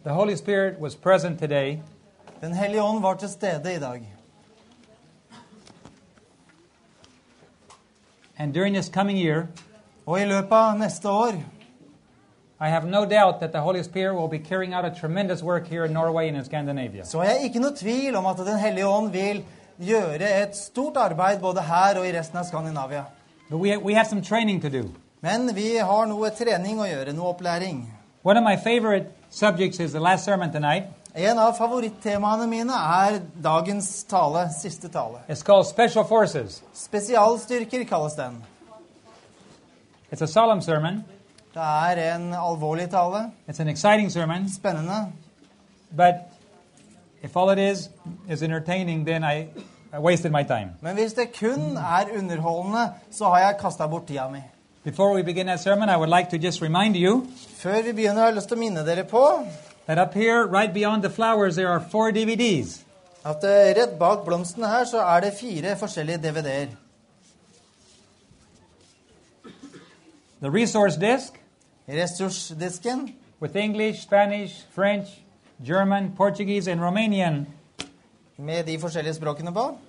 The Holy Spirit was present today. Den hellige ånd var til stede i dag. And during this coming year, Og i løpet av neste år, I have no doubt that the Holy Spirit will be carrying out a tremendous work here in Norway and in Scandinavia. så er jeg ikke noe tvil om at Den hellige ånd vil gjøre et stort arbeid både her og i resten av Skandinavia. But we have some training to do. Men vi har noe trening å gjøre, noe opplæring. One of my favorite subjects is the last sermon tonight. En av favorittemaene mine er dagens tale, siste tale. It's called Special Forces. Spesialstyrker kalles den. It's a solemn sermon. Det er en alvorlig tale, It's an exciting sermon. spennende. But if all it is entertaining, then I wasted my time. Men hvis det kun er underholdende, så har jeg kastet bort tida mi. Before we begin that sermon, I would like to just remind you Før vi begynner, har jeg lyst til å minne dere på that up here, right beyond the flowers, there are 4 DVDs. at rett bak blomstene her så er det 4 forskjellige DVD-er. The resource disc Ressursdisken with English, Spanish, French, German, Portuguese, and Romanian. med de forskjellige språkene på.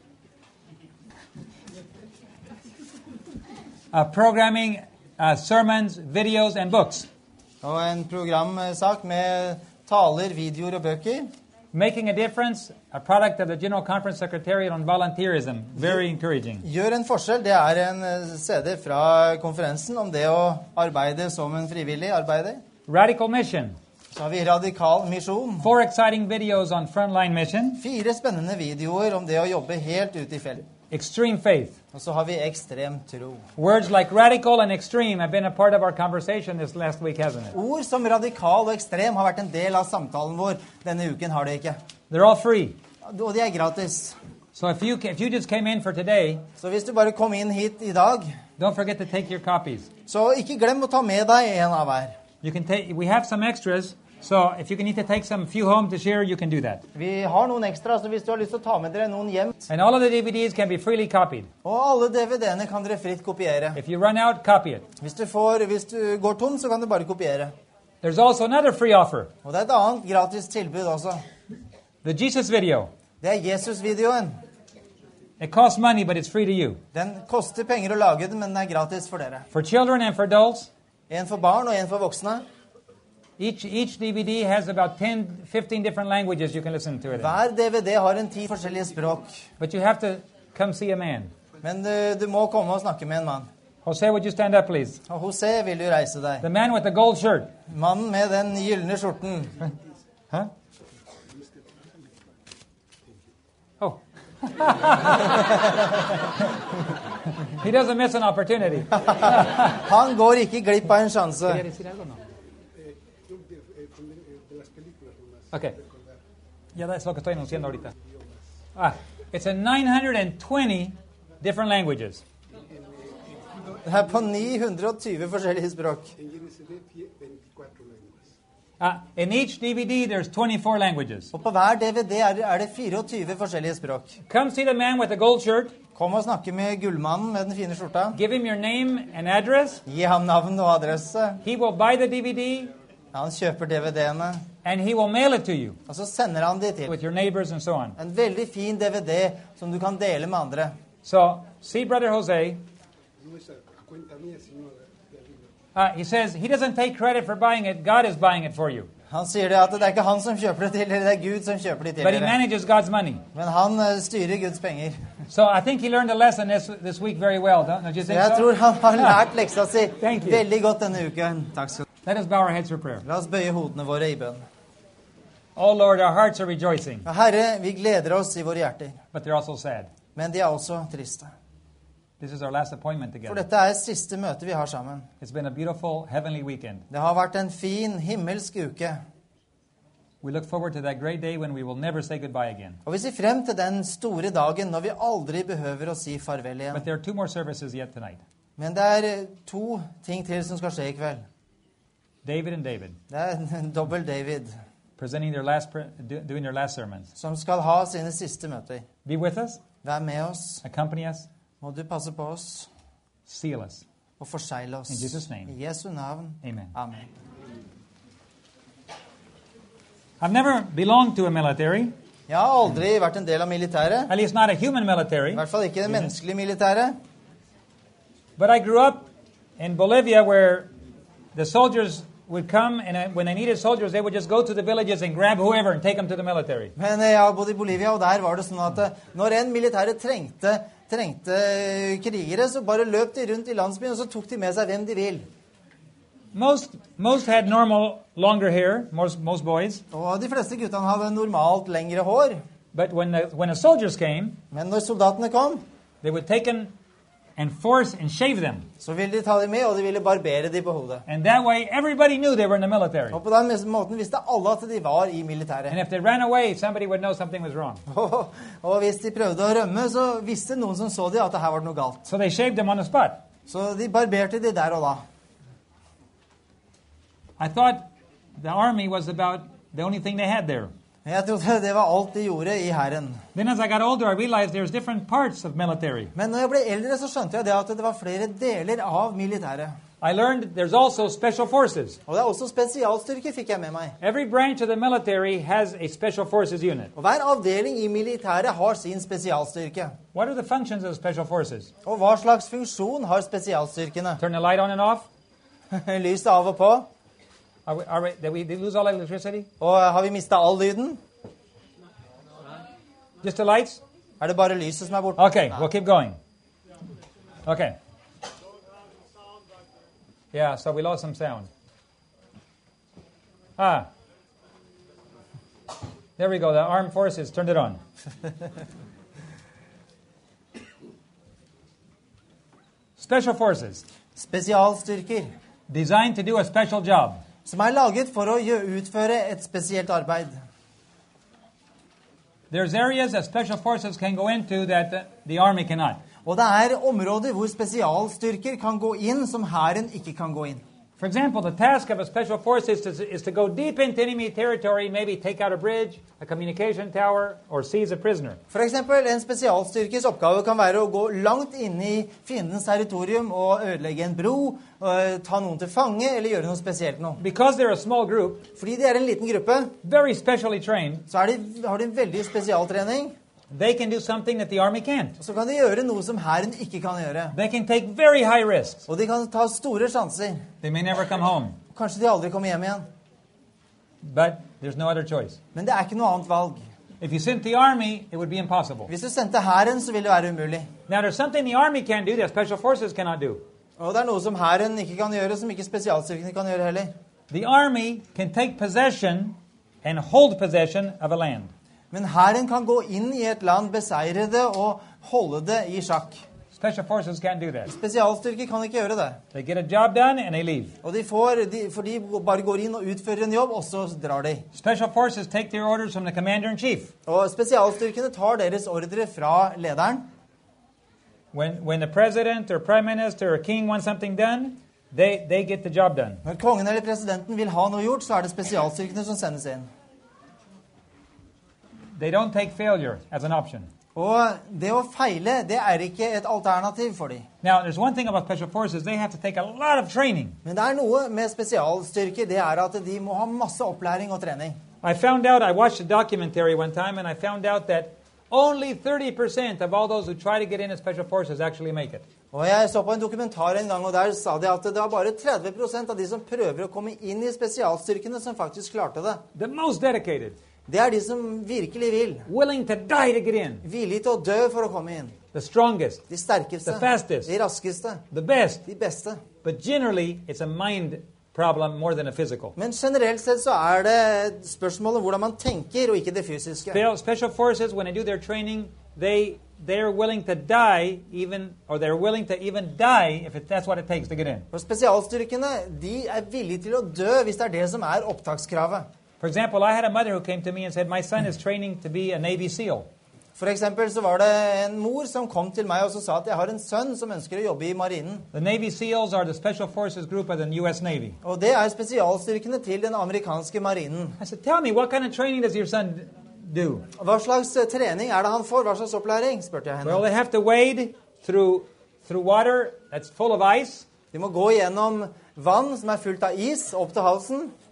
Programming, sermons, videos, and books. Og en programsak med taler, videoer og bøker. Making a Difference, a product of the General Conference Secretariat on Volunteerism. Very encouraging. Gjør en forskjell. Det er en CD fra konferensen om det å arbeide som en frivillig arbeider. Radical Mission. Så har vi radikal misjon. 4 exciting videos on frontline mission. 4 spennende videoer om det å jobbe helt ute i felt. Extreme Faith. Og så har vi ekstrem tro. Words like radical and extreme have been a part of our conversation this last week, hasn't it? Ord som radikal og ekstrem har vært en del av samtalen vår. Denne uken har det ikke. They're all free. Og de er gratis. So if you just came in for today, Så hvis du bare kom inn hit i dag, don't forget to take your copies. så ikke glem å ta med deg en av hver. You can take. We have some extras, so if you need to take some few home to share, you can do that. Vi har noen ekstra, så hvis du har lyst til å ta med dere noen hjem. And all of the DVDs can be freely copied. Og alle DVD-ene kan dere fritt kopiere. If you run out, copy it. Hvis du går tom, så kan du bare kopiere. There's also another free offer. Og det er et annet gratis tilbud også. The Jesus video. Det er Jesus-videoen. It costs money, but it's free to you. Den koster penger å lage den, men den er gratis for dere. For children and for adults, En for barn og en for voksne. each DVD has about 10-15 different languages you can listen to it in. Hver DVD har en 10 forskjellige språk. But you have to come see a man. Men du må komme og snakke med en mann. Jose, would you stand up, please? Og Jose, vil du reise deg? The man with the gold shirt. Mannen med den gyldne skjorten. Huh? Oh. He doesn't miss an opportunity. Han går ikke glipp av en sjanse. Okay. Ya es lo que estoy anunciando ahorita. It's in 920 different languages. Det er på 920 forskjellige språk. In each DVD, there's 24 languages. Og på hver DVD er det 24 forskjellige språk. Come see the man with the gold shirt. Kom og snakke med gullmannen med den fine skjorta. Give him your name and address. Gi ham navn og adresse. He will buy the DVD. Han kjøper DVD-ene. And he will mail it to you. Og så sender han de til. With your neighbors and so on. En veldig fin DVD som du kan dele med andre. So, see Brother Jose. He says he doesn't take credit for buying it. God is buying it for you. Han sier det at det er ikke han som kjøper det til dere, det er Gud som kjøper det til But he dere. manages God's money. Men han styrer Guds penger. So I think he learned the lesson this week very well. Don't you Så think jeg so? tror han har lært leksa si Thank you. veldig godt denne uken. Takk skal du ha. Let us bow our heads for prayer. La oss bøye hodene våre i bønn. Oh Lord, our hearts are rejoicing, Herre, vi gleder oss i våre hjerter, but they're also sad. men de er også triste. This is our last appointment For together. dette er siste møte vi har sammen. It's been a beautiful heavenly weekend. Det har vært en fin himmelsk uke. We look forward to that great day when we will never say goodbye again. Og vi ser frem til den store dagen når vi aldri behøver å si farvel igjen. But there are 2 more services yet tonight. Men det er 2 ting til som skal skje i kveld. David and David Det er en dobbel David presenting doing their last sermons. som skal ha sine siste møter. Be with us, Vær med oss. accompany us, Må du passe på oss seal us. og forsegle oss. In Jesus' name. I Jesu navn. Amen. Amen. I've never belonged to a military, Jeg har aldri vært en del av militæret. at least not a human military. I hvert fall ikke det menneskelige militæret. But I grew up in Bolivia where the soldiers would come, and when they needed soldiers, they would just go to the villages and grab whoever and take them to the military. Men jeg har bodd i Bolivia, og der var det sånn at når en militære trengte krigere, så bare løp de rundt i landsbyen, og så tok de med seg hvem de vil. Most had normal, longer hair, most boys. Og de fleste guttene hadde normalt lengre hår. But when the soldiers came, Men når soldatene kom, they would take them and force and shave them. så ville de ta dem med, og de ville barbere dem på hodet. And that way, everybody knew they were in the military. Og på den måten visste alle at de var i militæret. And if they ran away, somebody would know something was wrong. Og hvis de prøvde å rømme, så visste noen som så dem at det her var noe galt. So they shaved them on the spot. Så de barberte de der og da. I thought the army was about the only thing they had there. Jeg trodde det var alt de gjorde i hæren. Then as I got older, I realized there's different parts of military. Men når jeg ble eldre, så skjønte jeg det at det var flere deler av militæret. I learned there's also special forces. Og det er også spesialstyrker, fikk jeg med meg. Every branch of the military has a special forces unit. Og hver avdeling i militæret har sin spesialstyrke. What are the functions of special forces? Og hva slags funksjon har spesialstyrkene? Turn the light on and off? Lyset av og på. Did we lose all electricity? Og har vi mistet all lyden? Just the lights? Er det bare lyset som er borte? Okay, we'll keep going. Okay. Yeah, so we lost some sound. There we go. The armed forces turned it on. Special forces, Spesialstyrker, designed to do a special job. som er laget for å utføre et spesielt arbeid. There's areas that special forces can go into that the army cannot. Og det er områder hvor spesialstyrker kan gå inn som hæren ikke kan gå inn. For example, the task of a special force is to go deep into enemy territory, maybe take out a bridge, a communication tower, or seize a prisoner. For eksempel, en spesialstyrkes oppgave kan være å gå langt inn i fiendens territorium og ødelegge en bro, ta noen til fange eller gjøre noe spesielt noe. Because they're a small group, Fordi de er en liten gruppe, very specially trained, så har de en veldig spesialtrening. they can do something that the army can't. Og så kan de gjøre noe som hæren ikke kan gjøre. They can take very high risks. Og de kan ta store sjanser. They may never come home, Kanskje de aldri kommer hjem igjen. but there's no other choice. Men det er ikke noe annet valg. If you sent the army, it would be impossible. Hvis du sendte hæren, så ville det være umulig. Now, there's something the army can do that special forces cannot do. Og det er noe som hæren ikke kan gjøre, som ikke spesialstyrkene kan gjøre heller. The army can take possession and hold possession of a land. Men hæren kan gå inn i et land, beseire det og holde det i sjakk. Special forces can't do that. Spesialstyrker kan ikke gjøre det. They get a job done and they leave. Og for de bare går inn og utfører en jobb, og så drar de. Special forces take their orders from the commander-in-chief. Og spesialstyrkene tar deres ordre fra lederen. When the president or prime minister or king wants something done, they get the job done. Når kongen eller presidenten vil ha noe gjort, så er det spesialstyrkene som sendes inn. They don't take failure as an option. Og det å feile, det er ikke et alternativ for dem. Now, there's one thing about special forces. They have to take a lot of training. Men det er noe med spesialstyrker, det er at de må ha masse opplæring og trening. I watched a documentary one time, and I found out that only 30% of all those who try to get into special forces actually make it. Og jeg så på en dokumentar en gang, og der sa de at det var bare 30% av de som prøver å komme inn i spesialstyrkene som faktisk klarte det. The most dedicated. Det er de som virkelig vil. Willing to die to get in. Villige til å dø for å komme inn. The strongest. De sterkeste. The fastest. De raskeste. The best. De beste. But generally, it's a mind problem more than a physical. Men generelt sett så er det spørsmålet hvordan man tenker, og ikke det fysiske. Special forces, when they do their training, they're willing to die they're willing to even die if that's what it takes to get in. Og spesialstyrkene, de er villige til å dø hvis det er det som er opptakskravet. For example, I had a mother who came to me and said, my son is training to be a Navy SEAL. For eksempel så var det en mor som kom til meg og så sa at jeg har en sønn som ønsker å jobbe i marinen. The Navy SEALs are the special forces group of the U.S. Navy. Og det er spesialstyrkene til den amerikanske marinen. I said, tell me, what kind of training does your son do? Hva slags trening er det han får? Hva slags opplæring? Spurte jeg henne. Well, they have to wade through water that's full of ice. De må gå gjennom vann som er fullt av is, opp til halsen.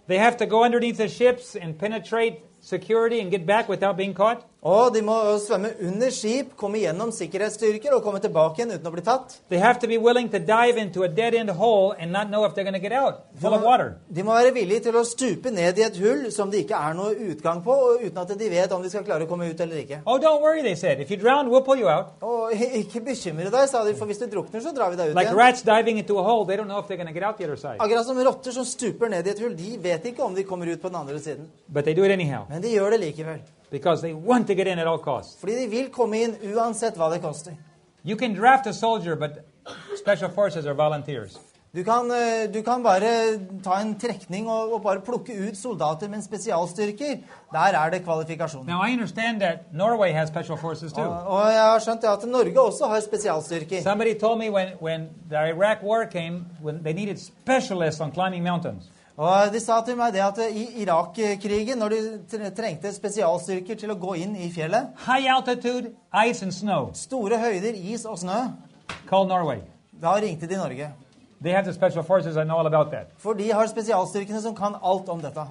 They have to go underneath the ships and penetrate security and get back without being caught. Og de må svømme under skip, komme gjennom sikkerhetsstyrker og komme tilbake igjen uten å bli tatt. They have to be willing to dive into a dead-end hole and not know if they're going to get out, full of water. De må være villige til å stupe ned i et hull som det ikke er noe utgang på, og uten at de vet om de skal klare å komme ut eller ikke. Oh, don't worry, they said. If you drown, we'll pull you out. Og ikke bekymre deg, sa de, for hvis du drukner, så drar vi deg ut Like igjen. rats diving into a hole, they don't know if they're going to get out the other side. Akkurat som rotter som stuper ned i et hull, de vet ikke om de kommer ut på den andre siden. But they do it anyhow Men de gjør det likevel. because they want to get in at all costs. Fordi de vil komme inn uansett hva det koster. You can draft a soldier, but special forces are volunteers. Du kan bare ta en trekning og bare plukke ut soldater, men spesialstyrker, der er det kvalifikasjoner. Now, I understand that Norway has special forces too. Og jeg har skjønt at Norge også har spesialstyrker. Somebody told me when the Iraq war came, when they needed specialists on climbing mountains. Og de sa til meg det at i Irak-krigen, når de trengte spesialstyrker til å gå inn i fjellet, High altitude, ice and snow. store høyder, is og snø, Call Norway. da ringte de Norge. They have the special forces. I know all about that. For de har spesialstyrkene som kan alt om dette.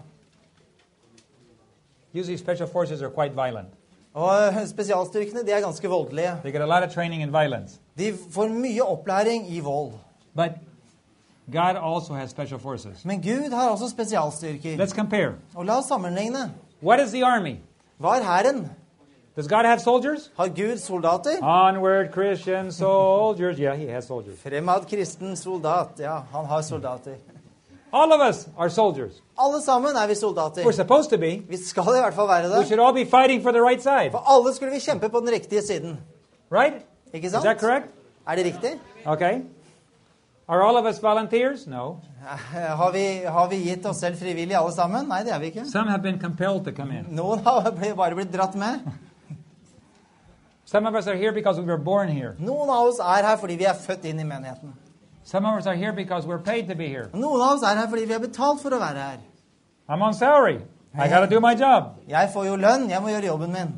Usually special forces are quite violent. Og spesialstyrkene, de er ganske voldelige. They get a lot of training in violence. De får mye opplæring i vold. But God also has special forces. Men Gud har også spesialstyrker. Let's compare. Og la oss sammenligne. What is the army? Hva er hæren? Does God have soldiers? Har Gud soldater? Onward, Christian soldiers. Yeah, he has soldiers. Fremad kristen soldat. Ja, han har soldater. All of us are soldiers. Alle sammen er vi We're soldater. supposed to be. Vi skal i hvert fall være We det. should all be fighting for the right side. For alle skulle vi kjempe på den riktige siden. Right? Ikke Is sant? that correct? Er det riktig? Okay. Are all of us volunteers? No. Har vi gitt oss selv frivillig alle sammen? Nei, det er vi ikke. Some have been compelled to come in. Noen har bare blitt dratt med. Some of us are here because we were born here. Noen av oss er her fordi vi er født inn i menigheten. Some of us are here because we're paid to be here. Noen av oss er her fordi vi er betalt for å være her. I'm on salary. I got to do my job. Jeg får jo lønn, jeg må gjøre jobben min.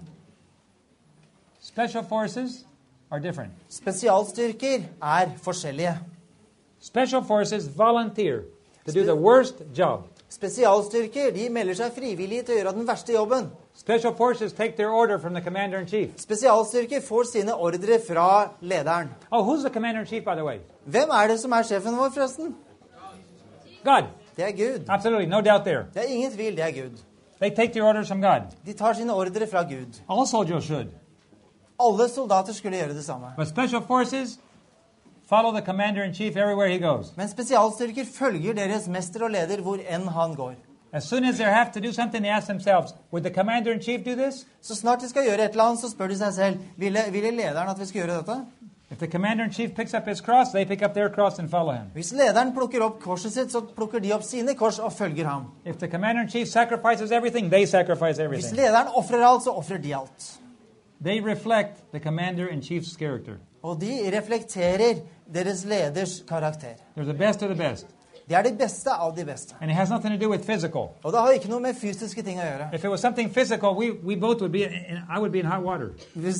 Special forces are different. Spesialstyrker er forskjellige. Special forces volunteer to do the worst job. Spesialstyrker de melder seg frivillige til å gjøre den verste jobben. Special forces take their order from the commander-in-chief. Spesialstyrker får sine ordre fra lederen. Oh, who's the commander-in-chief, by the way? Hvem er det som er sjefen vår, forresten? God. Det er Gud. Absolutely, no doubt there. Det er ingen tvil, det er Gud. They take their orders from God. De tar sine ordre fra Gud. All soldiers should. Alle soldater skulle gjøre det samme. But special forces follow the commander-in-chief everywhere he goes. Men spesialstyrker følger deres mester og leder hvor enn han går. As soon as they have to do something, they ask themselves, would the commander-in-chief do this? Så snart de skal gjøre et eller annet, så spør de seg selv, ville lederen at vi skal gjøre dette? If the commander-in-chief picks up his cross, they pick up their cross and follow him. Hvis lederen plukker opp korset sitt, så plukker de opp sine kors og følger ham. If the commander-in-chief sacrifices everything, they sacrifice Hvis everything. lederen offrer alt, så offrer de alt. They reflect the commander-in-chief's character. Og de reflekterer deres leders karakter. They're the best of the best. De er de beste av de beste. And it has nothing to do with physical. Og det har ikke noe med fysiske ting å gjøre. If it was something physical, we both would be, I would be in hot water.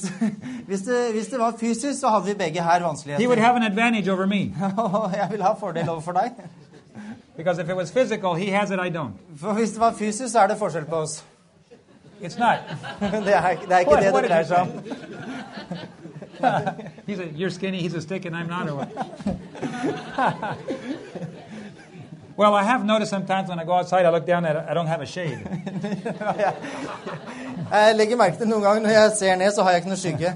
Hvis det var fysisk, så hadde vi begge her He would vanskeligheter. have an advantage over me. Og jeg vil ha fordel overfor deg. Because if it was physical, he has it, I don't. For hvis det var fysisk, så er det forskjell på oss. It's not. Det er ikke det What det did dreier you seg om. You're skinny, he's a stick, and I'm not. Or what? Well, I have noticed sometimes when I go outside, I look down and I don't have a shade. Jeg legger merke til noen ganger når jeg ser ned, så har jeg ikke noe skygge.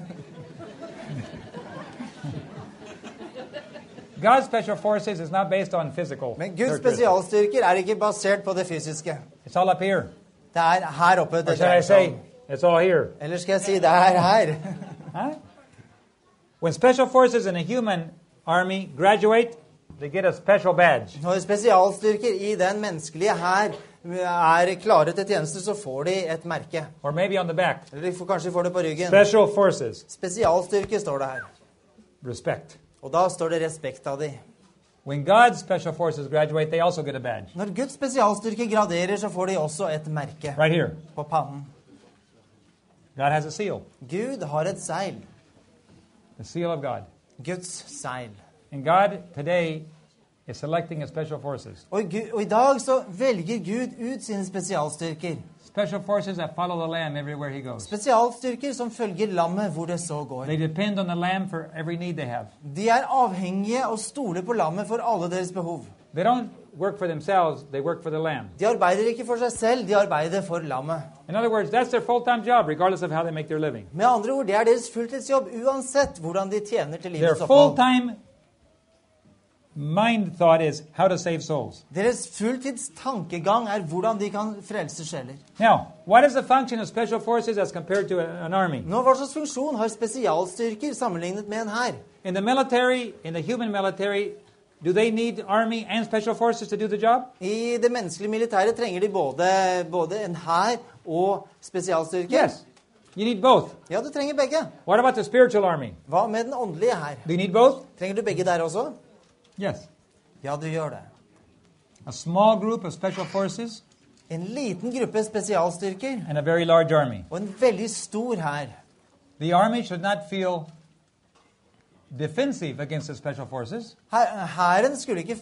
God's special forces is not based on physical. Men Guds characteristics. spesialstyrker er ikke basert på det fysiske. It's all up here. Det er her oppe Or det should I dreier seg say, om. it's all here. Eller skal jeg si det er her? Huh? When special forces in a human army graduate, they get a special badge. Når spesialstyrker i den menneskelige her er klare til tjeneste, så får de et merke. Or maybe on the back. Eller kanskje de får det på ryggen. Special forces. Spesialstyrke står det her. Respect. Og da står det respekt av de. When God's special forces graduate, they also get a badge. Når Guds spesialstyrke graderer, så får de også et merke Right here. på pannen. God has a seal. Gud har et seil. The seal of God. Guds seil. And God today is selecting a special forces. Og i dag så velger Gud ut sine spesialstyrker. Special forces that follow the Lamb everywhere he goes. Spesialstyrker som følger lammet hvor det så går. They depend on the Lamb for every need they have. De er avhengige og stoler på lammet for alle deres behov. They don't work for themselves, they work for the Lamb. De arbeider ikke for seg selv, de arbeider for lammet. In other words, that's their full-time job, regardless of how they make their living. Med andre ord, det er deres fulltidsjobb uansett hvordan de tjener til Their livets opphold. full-time mind thought is how to save souls. Deres fulltidstankegang er hvordan de kan frelse sjeler. Now, what is the function of special forces as compared to an army? Nå, hva slags funksjon har spesialstyrker sammenlignet med en hær? In the military, in the human military, do they need army and special forces to do the job? I det menneskelige militæret trenger de både en hær og spesialstyrker. Yes. You need both. Ja, du trenger begge. What about the spiritual army? Hva med den åndelige hær? Do you need both? Trenger du begge der også? Yes. Ja, du gjør det. A small group of special forces En liten gruppe spesialstyrker and a very large army. og en veldig stor hær. The army should not feel defensive against the special forces. Hæren skulle ikke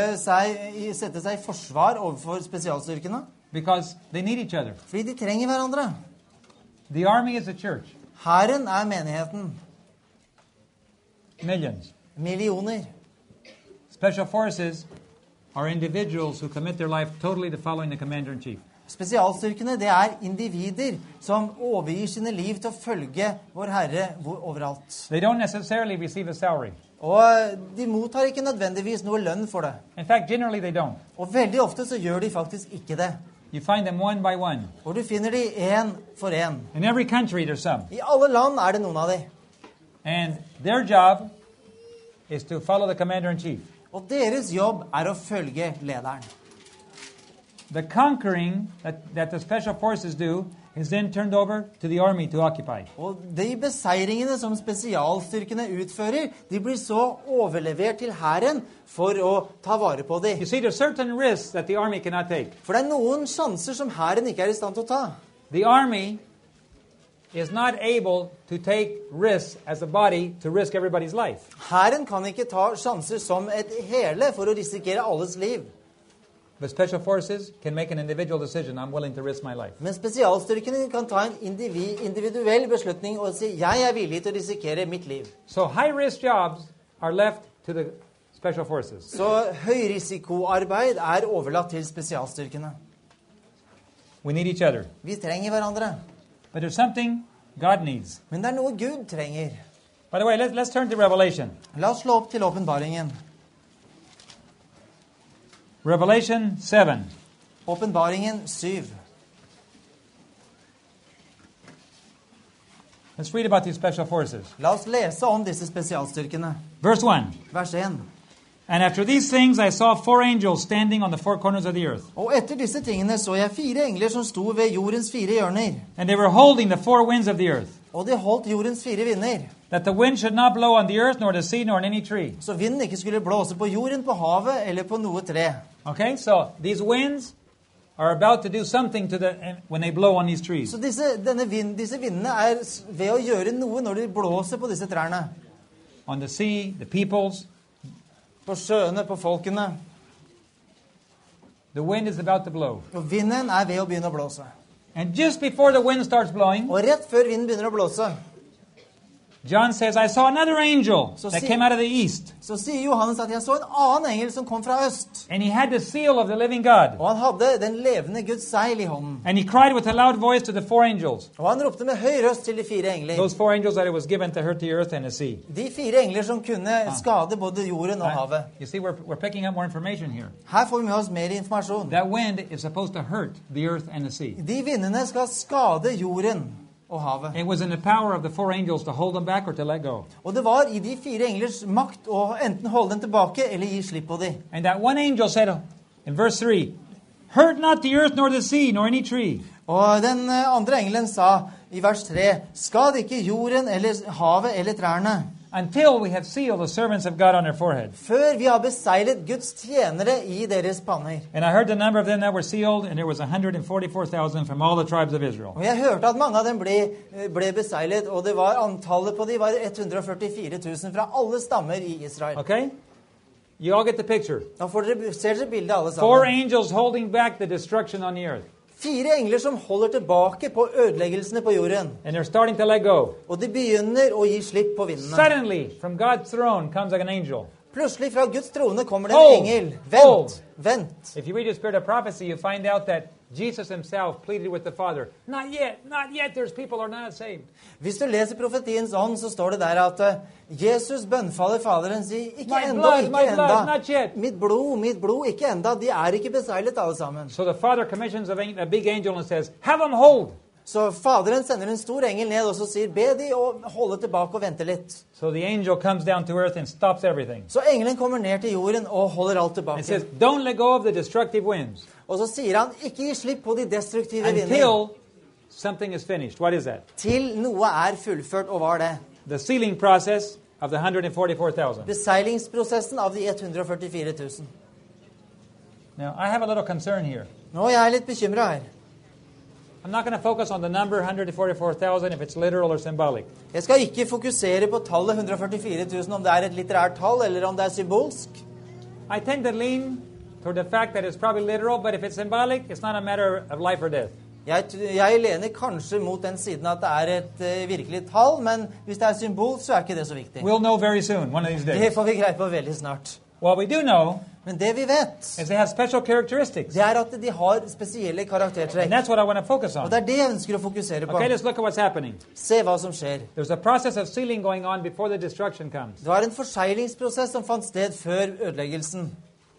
sette seg i forsvar overfor spesialstyrkene, Because they need each other. fordi de trenger hverandre. The army is a church. Hæren er menigheten. Millions. Millioner. Special forces are individuals who commit their life totally to following the commander-in-chief. Spesialstyrkene, det er individer som overgir sine liv til å følge vår Herre overalt. They don't necessarily receive a salary. Og de mottar ikke nødvendigvis noe lønn for det. In fact, generally they don't. Og veldig ofte så gjør de faktisk ikke det. You find them one by one. Og du finner de en for en. In every country there's some. I alle land er det noen av de. And their job is to follow the commander-in-chief. Og deres jobb er å følge lederen. The conquering that the special forces do is then turned over to the army to occupy. Og de beseiringene som spesialstyrkene utfører, de blir så overlevert til hæren for å ta vare på dem. You see, there's certain risks that the army cannot take. For det er noen sjanser som hæren ikke er i stand til å ta. The army is not able to take risks as a body to risk everybody's life. Hæren kan ikke ta sjanser som et hele for å risikere alles liv. But special forces can make an individual decision. I'm willing to risk my life. Men spesialstyrkene kan ta en individuell beslutning og si, jeg er villig til å risikere mitt liv. So high-risk jobs are left to the special forces. Så høyrisikoarbeid er overlatt til spesialstyrkene. We need each other. Vi trenger hverandre. But there's something God needs. Men det er noe Gud trenger. By the way, let's turn to Revelation. La oss slå opp til åpenbaringen. Revelation 7. Åpenbaringen 7. Let's read about these special forces. La oss lese om disse spesialstyrkene. Verse 1. Vers 1. And after these things I saw 4 angels standing on the 4 corners of the earth. Og etter disse tingene så jeg 4 engler som sto ved jordens 4 hjørner. And they were holding the 4 winds of the earth, Og de holdt jordens 4 vinder. that the wind should not blow on the earth, nor the sea, nor on any tree. Så vinden ikke skulle blåse på jorden, på havet eller på noe tre. Okay, so these winds are about to do something to when they blow on these trees. Så disse vindene er ved å gjøre noe når de blåser på disse trærne. On the sea, the peoples, På sjøene, på folkene. the wind is about to blow. Og vinden er ved å begynne å blåse. And just before the wind starts blowing, Og rett før vinden begynner å blåse, John says, I saw another angel So that see- came out of the east. så sier Johannes at jeg så en annen engel som kom fra øst. And he had the seal of the living God. Og han hadde den levende Guds seil i hånden. And he cried with a loud voice to the 4 angels. Og han ropte med høy røst til de 4 engler. Those 4 angels that it was given to hurt the earth and the sea. De 4 engler som kunne skade både jorden og havet. You see, we're picking up more information here. Her får vi med oss mer informasjon. That wind is supposed to hurt the earth and the sea. De vindene skal skade jorden og havet. It was in the power of the 4 angels to hold them back or to let go. Og det var i de 4 englers makt å enten holde dem tilbake eller gi slipp på dem. And that one angel said in verse 3, hurt not the earth nor the sea nor any tree. Og den andre engelen sa i vers 3, skad ikke jorden eller havet eller trærne, Until we have sealed the servants of God on their forehead. før vi har beseglet Guds tjenere i deres panner. And I heard the number of them that were sealed, and there was 144,000 from all the tribes of Israel. Og jeg hørte at mange av dem ble beseglet, og det var antallet på de var 144 000 fra alle stammer i Israel. Okay? You all get the picture. Nå ser dere bildet alle 4 sammen. angels holding back the destruction on the earth. 4 engler som holder tilbake på ødeleggelsene på jorden. And they're starting to let go. Og de begynner å gi slipp på vindene. Suddenly, from God's throne comes like an angel. Plutselig fra Guds trone kommer det Hold! en engel. Hold! Vent, vent. If you read the spirit of prophecy, you find out that Jesus himself pleaded with the Father, not yet, there's people who are not saved. Hvis du leser profetiens ånd, så står det der at Jesus bønnfaller Faderen, sier, ikke My enda, blood, ikke my blood, enda. not yet. Mitt blod, ikke enda. De er ikke beseglet alle sammen. So the Father commissions a big angel and says, have them hold. Så Faderen sender en stor engel ned og så sier, be de å holde tilbake og vente litt. So the angel comes down to earth and stops everything. Så engelen kommer ned til jorden og holder alt It tilbake. says, don't let go of the destructive winds Og så sier han, ikke gi slipp på de destruktive vinder. until something is finished. What is that? Til noe er fullført, og hva er det? The sealing process of the 144,000. Beseilingsprosessen av de 144 000. Now, I have a little concern here. Nå er jeg litt bekymret her. I'm not going to focus on the number 144,000 if it's literal or symbolic. Jeg skal ikke fokusere på tallet 144 000, om det er et litterært tall, eller om det er symbolsk. I tend to lean toward the fact that it's probably literal, but if it's symbolic, it's not a matter of life or death. Jeg lener kanskje mot den siden at det er et virkelig tall, men hvis det er symbol, så er ikke det så viktig. We'll know very soon, one of these Det days. får vi greie på veldig snart. What we do know Men det vi vet, is they have special characteristics. det er at de har spesielle And karaktertrekk. that's what I want to focus Og on. det er det jeg ønsker å fokusere på. Okay, let's look at what's happening. Se hva som skjer. There's a process of sealing going on before the destruction comes. Det var en forseglingsprosess som fant sted før ødeleggelsen.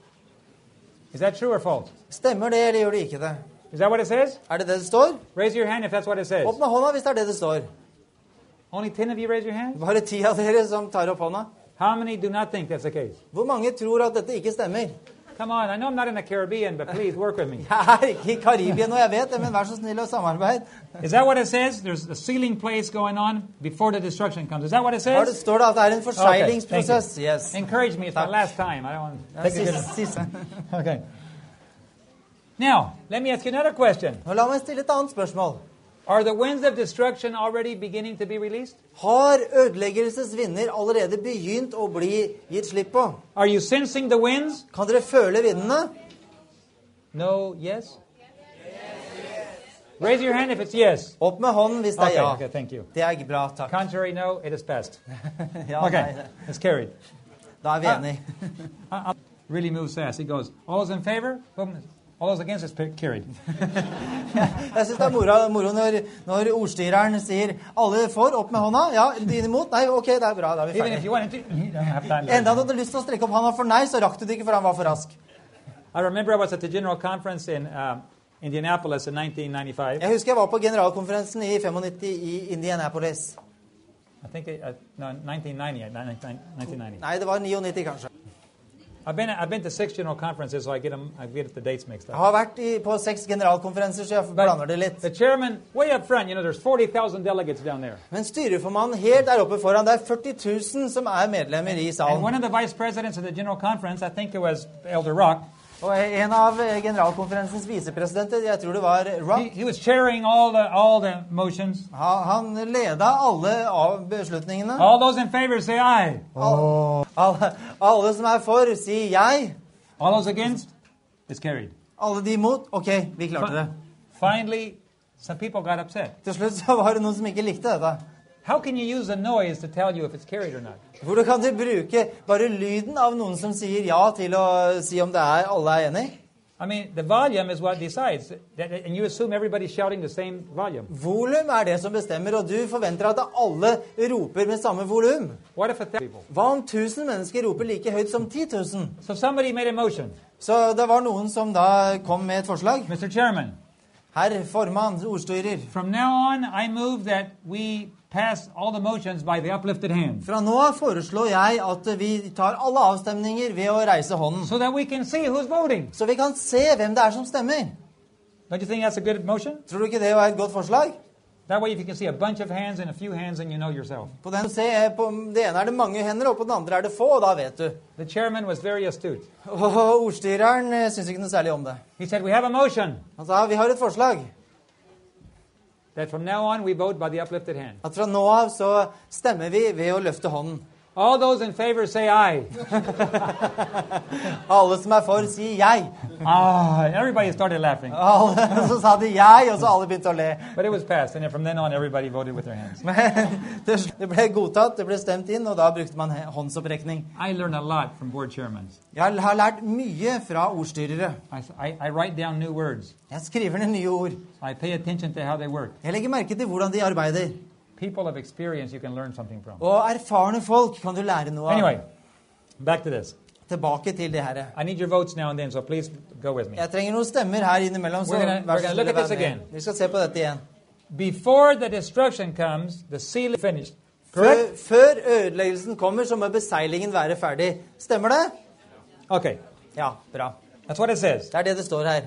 Is that true or false? Stemmer det, eller gjør det ikke det? Is that what it says? Er det det det står? Raise your hand if that's what it says. Opp med hånda hvis det er det det står. Only 10 of you raise your hand? Bare 10 av dere som tar opp hånda. How many do not think that's the case? Hvor mange tror at dette ikke stemmer? Come on, I know I'm not in the Caribbean, but please work with me. Jeg er ikke i Karibien, og jeg vet det, men vær så snill å samarbeide. Is that what it says? There's a sealing place going on before the destruction comes. Is that what it Her says? står det at det er en Okay, forseglingsprosess. thank you. Yes. Encourage me. It's my Tak. last time. I don't want to take a good... Siste. Okay. Now, let me ask you another question. Nå la meg stille et annet spørsmål. Are the winds of destruction already beginning to be released? Har ødeleggelsesvinder allerede begynt å bli gitt slipp på? Are you sensing the winds? Kan dere føle vindene? No, yes? Raise your hand if it's yes. Opp med hånden hvis det er Okay, ja. okay, thank you. Det er bra, takk. Contrary, no, it is passed. Ja, Okay, nei, it's carried. da er vi enige. Really moves fast. He goes, all those in favor? Boom. All those against is carried. Jeg synes det er moro når ordstyreren sier alle for, opp med hånda. Ja, dine imot? Nei, ok, det er bra, da er vi Even if ferdige. you wanted to, you don't have time. Enda du hadde lyst til å strekke opp hånda for nei, så rakk du det ikke, for han var for rask. I remember I was at the general conference in Indianapolis in 1995. Jeg husker jeg var på generalkonferensen i 95 i Indianapolis. I think, no, 1990. Nei, det var 99 kanskje. I've been to 6 general conferences, so I get the dates mixed Jeg up. har vært på 6 generalkonferenser, så jeg blander det litt. The chairman, way up front, there's 40,000 delegates down there. Men styreformannen helt der oppe foran, det er 40 000 som er medlemmer i And salen. one of the vice presidents of the general conference, I think it was Elder Rock, Og en av generalkonferensens visepresidenter, jeg tror det var Rock, he was chairing all the motions. han leda alle av beslutningene. All those in favor say aye. Alle som er for, sier jeg. All those against, it's carried. Alle de imot, ok, vi klarte det. Finally, some people got upset. Til slutt så var det noen som ikke likte dette. How can you use a noise to tell you if it's carried or not? Hvordan kan du bruke bare lyden av noen som sier ja til å si om det er alle er enig? I mean, the volume is what decides, and you assume everybody's shouting the same volume. Volum er det som bestemmer, og du forventer at alle roper med samme volum. What if 1,000 people? Hva om 1000 mennesker roper like høyt som 10 000? So somebody made a motion. Så det var noen som da kom med et forslag. Mr. Chairman, Herr formann, ordstyrer. from now on, I move that we pass all the motions by the uplifted hand, Fra nå av foreslår jeg at vi tar alle avstemninger ved å reise hånden. so that we can see who's voting. Så vi kan se hvem det er som stemmer. Don't you think that's a good motion? Tror du ikke det er et godt forslag? That way, if you can see a bunch of hands and a few hands, then you know yourself. På den, på det ene er det mange hender, og på den andre er det få, og da vet du. The chairman was very astute. Og ordstyreren synes ikke noe særlig om det. He said, we have a motion Han sa, vi har et forslag. that from now on we vote by the uplifted hand. At fra nå av så stemmer vi ved å løfte hånden. All those in favor say aye. Alle som for, sier jeg. Everybody started laughing. Alle, så sa de jeg, og så alle begynte å le. But it was passed, and then from then on, everybody voted with their hands. Men det ble godtatt, det ble stemt inn, og da brukte man håndsopprekning. I learned a lot from board chairmen. Jeg har lært mye fra ordstyrere. I write down new words. Jeg skriver ned nye ord. I pay attention to how they work. Jeg legger merke til hvordan de arbeider. People of experience you can learn something from. Og erfarne folk kan du lære noe av. Anyway, back to this. Tilbake til det her. I need your votes now and then, so please go with me. Jeg trenger noen stemmer her innimellom, så We're gonna look at this again. Vi skal se på dette igjen. Before the destruction comes, the seal is finished. Correct? Før ødeleggelsen kommer, så må beseilingen være ferdig. Stemmer det? Okay. Ja, bra. That's what it says. Det er det står her.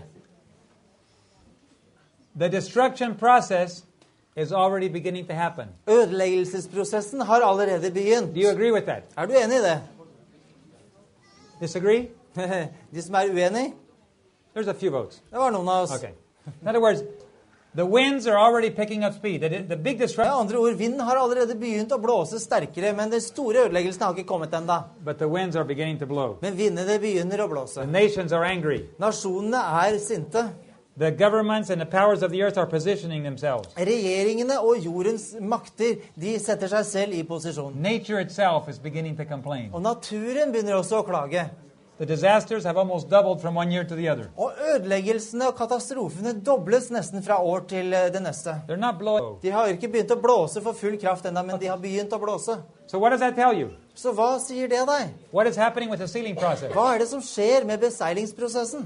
The destruction process is already beginning to happen. Ødeleggelsesprosessen har allerede begynt. Do you agree with that? Er du enig i det? Disagree? De som er uenige? There's a few votes. Det var noen av oss. Okay. In other words, the winds are already picking up speed. The big Med destruction, andre ord, vinden har allerede begynt å blåse sterkere, men den store ødeleggelsen har ikke kommet enda. but the winds are beginning to blow. Men vindene begynner å blåse. The nations are angry. Nasjonene er sinte. The governments and the powers of the earth are positioning themselves. Regjeringene og jordens makter, de setter seg selv i posisjon. Nature itself is beginning to complain. Og naturen begynner også å klage. The disasters have almost doubled from one year to the other. Og ødeleggelsene og katastrofene dobles nesten fra år til det neste. They're not blowing. De har ikke begynt å blåse for full kraft enda, men de har begynt å blåse. So what does that tell you? Så hva sier det deg? What is happening with the sealing process? Hva er det som skjer med beseilingsprosessen?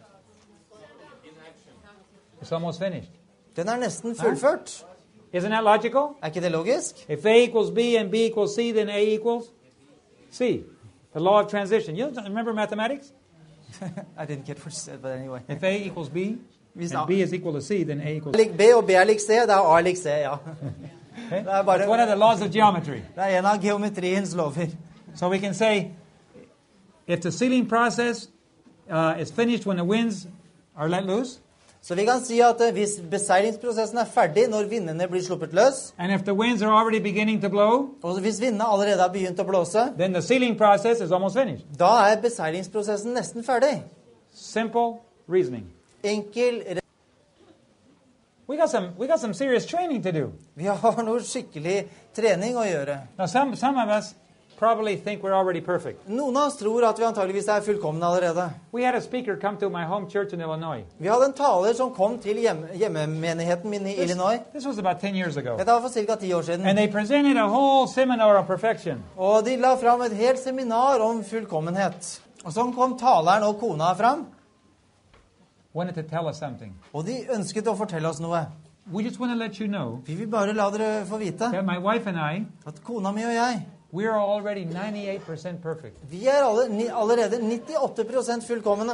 It's almost finished. Den er nesten fullført. Isn't that logical? Er ikke det logisk? If A equals B and B equals C, then A equals C. The law of transition. You remember mathematics? I didn't get what you said, but anyway. If A equals B Hvis and B is equal to C, then A equals lik B og B er lik C, da er A lik C, ja. Okay? Det er bare- It's one of the laws of geometry. Det er en av geometriens lover. So we can say, if the sealing process is finished when the winds are let loose, Så vi kan si at hvis beseilingsprosessen er ferdig når vindene blir sluppet løs, and if the winds are already beginning to blow, og hvis vindene allerede har begynt å blåse, then the sealing process is almost finished. da er beseilingsprosessen nesten ferdig. Simple reasoning. Enkel. We got some serious training to do. Vi har noe skikkelig trening å gjøre. Now some of us probably think we're already perfect. Noen av oss tror at vi antageligvis er fullkomne allerede. We had a speaker come to my home church in Illinois. Vi hadde en taler som kom til hjemmemenigheten min i Illinois. This was about 10 years ago. Dette var for ca. 10 år siden. And they presented a whole seminar on perfection. Og de la fram et helt seminar om fullkommenhet. Og så kom taleren og kona fram, Wanted to tell us something. og de ønsket å fortelle oss noe. We just want to let you know Vi vil bare la dere få vite that my wife and I, at kona mi og jeg, we are already 98% perfect. vi er allerede 98% fullkomne.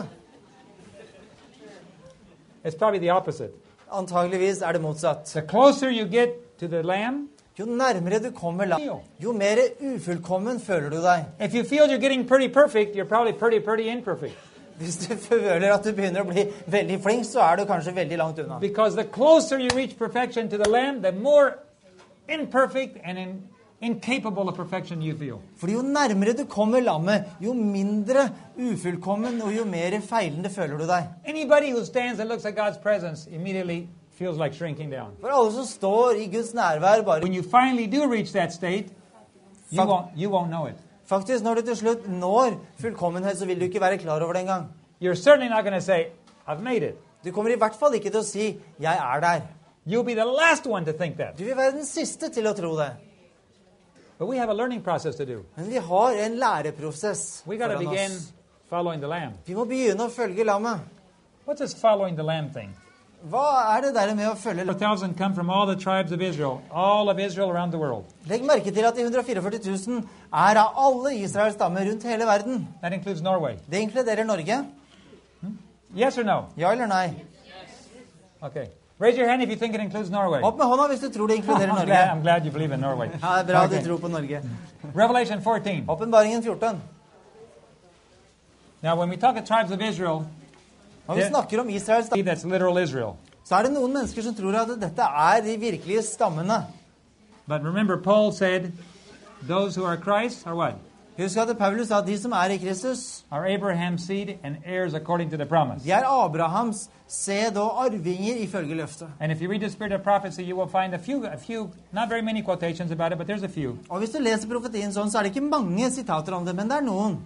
It's probably the opposite. Antageligvis er det motsatt. The closer you get to the Lamb, Jo nærmere du kommer jo mer ufullkommen føler du deg. if you feel you're getting pretty perfect, you're probably pretty imperfect. Hvis du føler at du begynner å bli veldig flink, så er du kanskje veldig langt unna. Because the closer you reach perfection to the Lamb, the more imperfect and incapable of perfection you feel. For jo nærmere du kommer lammet, jo mindre ufullkommen og jo mer feilende føler du deg. Anybody who stands and looks at God's presence immediately feels like shrinking down. For alle som står i Guds nærvær, bare When you finally do reach that state, you won't know it. faktisk når du til slutt når fullkommenhet, så vil du ikke være klar over det engang. You're certainly not going to say, I've made it. Du kommer i hvert fall ikke til å si, jeg er der. You'll be the last one to think that. Du vil være den siste til å tro det. But we have a learning process to do. Men vi har en læreprosess We got to foran begin oss. following the Lamb. Vi må begynne å følge lammet. What's this following the Lamb thing? Hva er det der med å følge lammet? 4,000 come from all the tribes of Israel, all of Israel around the world. Legg merke til at de 144 000 er av alle Israels stammer rundt hele verden. That includes Norway. Det inkluderer Norge. Yes or no? Ja eller nei? Okay. Raise your hand if you think it includes Norway. Opp med hånda hvis du tror det inkluderer I'm Norge. glad you believe in Norway. Ja, det er bra Okay. du tror på Norge. Revelation 14. Åpenbaringen 14. Now, when we talk of tribes of Israel, Når vi snakker om Israels stammer, that's literal Israel. så er det noen mennesker som tror at dette er de virkelige stammene. But remember, Paul said those who are Christ are what? Husk at Paulus sa at de som er i Kristus, Are Abraham's seed and heirs according to the promise. de er Abrahams sæd og arvinger ifølge løftet. And if you read the Spirit of Prophecy, you will find a few, not very many quotations about it, but there's a few. Og hvis du leser profetien sånn, så er det ikke mange sitater om det, men det er noen.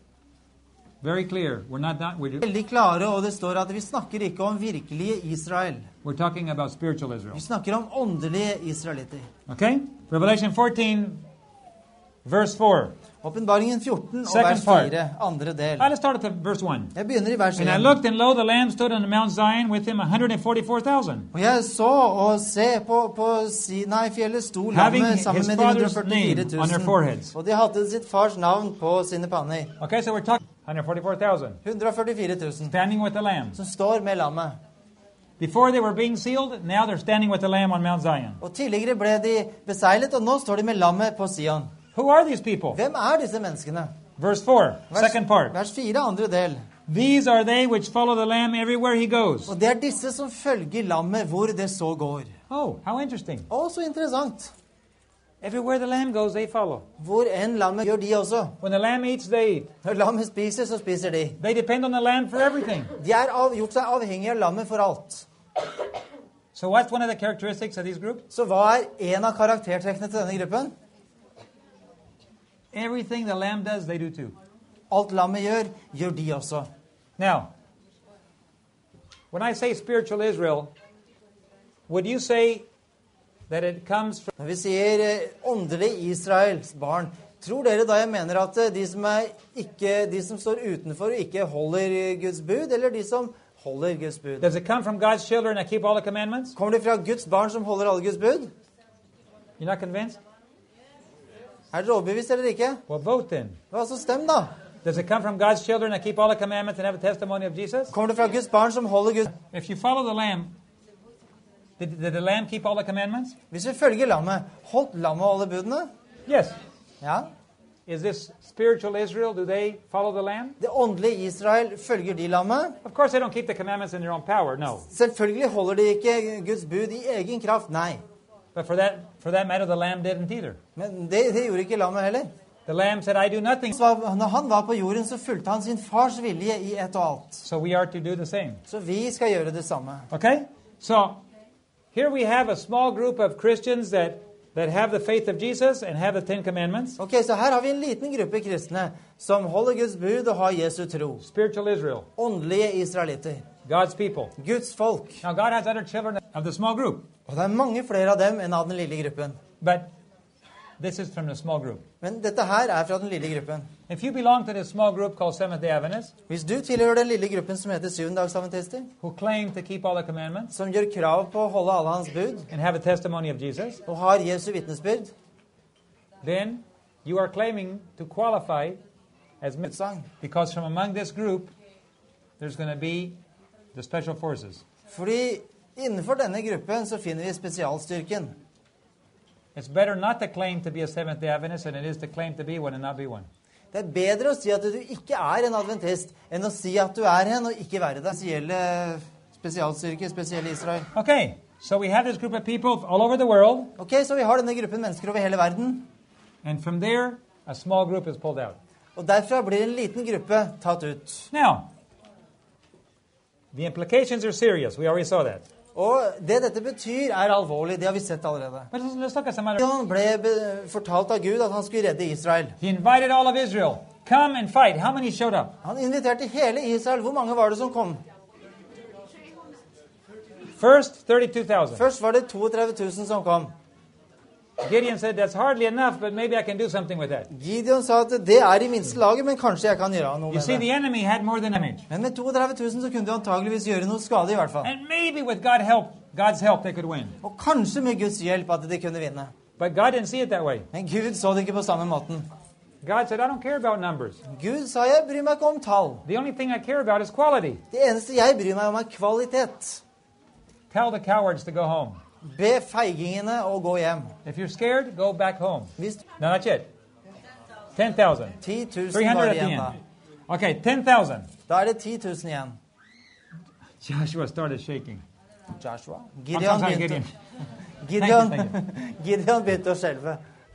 Very clear. We're Veldig klare, og det står at vi snakker ikke om virkelige Israel. talking about spiritual Israel. Vi snakker om åndelige israelitter. Okay? Revelation 14, verse 4. Åpenbaringen 14 og Second vers part. 4, andre del. Let's start at verse 1. Jeg begynner i vers And I 1. looked, and lo, the Lamb stood on Mount Zion, with him 144,000, Og jeg så og se på Sinai-fjellet sto having lammet sammen his med de father's 144 name on their 000. foreheads. Og de hadde sitt fars navn på sine panner. Okay, so we're talking 144,000 144 000 standing with the Lamb. som står med lammet. Before they were being sealed, now they're standing with the Lamb on Mount Zion. Og tidligere ble de beseglet, og nå står de med lammet på Sion. Who are these people? Hvem er disse menneskene? Verse 4, second part. Vers 4, andre del. These are they which follow the Lamb everywhere he goes. Og det er disse som følger lammet hvor det så går. Oh, how interesting. Å, så interessant. Everywhere the Lamb goes, they follow. Hvor enn lammet gjør de også. When the Lamb eats, they eat. Når lammet spiser, så spiser de. They depend on the Lamb for everything. De er gjort seg avhengige av lammet for alt. So what's one of the characteristics of these groups? Så hva er en av karaktertrekkene til denne gruppen? Everything the Lamb does, they do too. Alt lammet gjør, gjør de også. Now, when I say spiritual Israel, would you say that it comes from... Når vi sier åndelig Israels barn, tror dere da jeg mener at de som står utenfor og ikke holder Guds bud, eller de som holder Guds bud? Does it come from God's children that keep all the commandments? Kommer det fra Guds barn som holder alle Guds bud? You're not convinced? Er dere overbevist eller ikke? Well, vote then. Hva så stem da? Does it come from God's children that keep all the commandments and have a testimony of Jesus? Kommer det fra Guds barn som holder Guds... If you follow the Lamb, did the Lamb keep all the commandments? Hvis vi følger lammet, holdt lammet alle budene? Yes. Ja. Is this spiritual Israel? Do they follow the Lamb? Det åndelige Israel følger de lammet. Of course, they don't keep the commandments in their own power, no. Selvfølgelig holder de ikke Guds bud i egen kraft, nei. But for that matter, the Lamb didn't either. Men det gjorde ikke lammet heller. The Lamb said, I do nothing. Når han var på jorden, så fulgte han sin fars vilje i ett og alt. So we are to do the same. Så vi skal gjøre det samme. Okay? So here we have a small group of Christians that have the faith of Jesus and have the Ten Commandments. Ok, så her har vi en liten gruppe kristne som holder Guds bud og har Jesu tro. Spiritual Israel. Åndelige israelitter. God's people. Guds folk. Now God has other children of the small group. Og det er mange flere av dem enn av den lille gruppen. But this is from the small group. Men dette her er fra den lille gruppen. If you belong to this small group called Seventh-day Adventists, Hvis du tilhører den lille gruppen som heter syvendagsadventister, who claim to keep all the commandments som gjør krav på å holde alle hans bud, and have a testimony of Jesus, og har Jesu vitnesbyrd, then you are claiming to qualify as utsagn. because from among this group, there's going to be the special forces. Fordi innenfor denne gruppen så finner vi spesialstyrken. It's better not to claim to be a Seventh-day Adventist than it is to claim to be one and not be one. Det er bedre å si at du ikke er en adventist, enn å si at du er en og ikke være det. Spesialstyrke, spesielle Israel. Okay, so we have this group of people all over the world, Ok, så vi har denne gruppen mennesker over hele verden, and from there, a small group is pulled out. og derfra blir en liten gruppe tatt ut. Now, the implications are serious. We already saw that. Og det dette betyr er alvorlig, det har vi sett allerede. But let's look at some other... Han ble fortalt av Gud at han skulle redde Israel. He invited all of Israel. Come and fight. How many showed up? Han inviterte hele Israel. Hvor mange var det som kom? First, 32,000. Først var det 32 000 som kom. Gideon said, that's hardly enough, but maybe I can do something with that. Gideon sa at det er i minste laget, men kanskje jeg kan gjøre noe You see, med the det. enemy had more than damage. Men med 32 000 så kunne du antageligvis gjøre noe skade i hvert fall. And maybe with God's help, they could win. Og kanskje med Guds hjelp at de kunne vinne. But God didn't see it that way. Men Gud så det ikke på samme måten. God said, I don't care about numbers. Gud sa, jeg bryr meg ikke om tall. The only thing I care about is quality. Det eneste jeg bryr meg om er kvalitet. Tell the cowards to go home. Be feigingene å gå hjem. If you're scared, go back home. Hvis No, not yet. 10,000. 10 000 300 var at the igjen end. da. Okay, 10,000. Da er det 10 000 igjen. Joshua started shaking. Joshua. I'm Gideon sorry, begynte, Gideon. Gideon begynte å skjelve.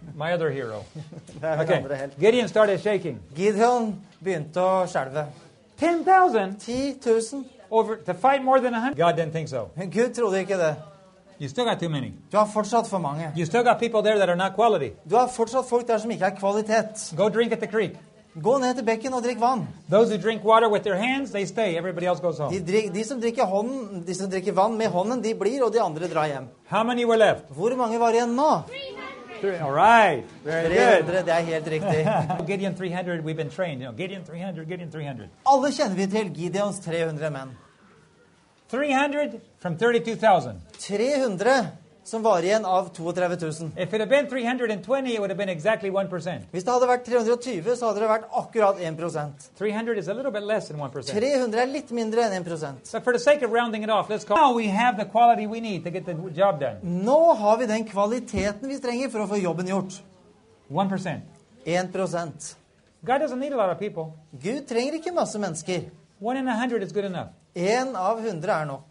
my other hero. Det er min Okay. andre helt. Gideon started shaking. Gideon begynte å skjelve. 10,000 10 000. over to fight more than 100. God didn't think so. Men Gud trodde ikke det. You still got too many. Du har fortsatt for mange. You still got people there that are not quality. Du har fortsatt folk der som ikke er kvalitet. Go drink at the creek. Gå ned til bekken og drikk vann. Those who drink water with their hands, they stay. Everybody else goes home. De som drikker vann med hånden, de blir, og de andre drar hjem. How many were left? Hvor mange var igjen nå? 300. All right. Very good. 300, det er helt riktig. Gideon 300, we've been trained. Gideon 300, Gideon 300. Alle kjenner vi til Gideons 300 menn. 300 from 32,000. 300 som var igjen av 32 000. If it had been 320, it would have been exactly 1%. Hvis det hadde vært 320, så hadde det vært akkurat 1%. 300 is a little bit less than 1%. 300 er litt mindre enn 1%. But for the sake of rounding it off, let's call now we have the quality we need to get the job done. Nå har vi den kvaliteten vi trenger for å få jobben gjort. 1%. 1%. God doesn't need a lot of people. Gud trenger ikke masse mennesker. 1 in 100 is good enough. 1 av 100 er nok.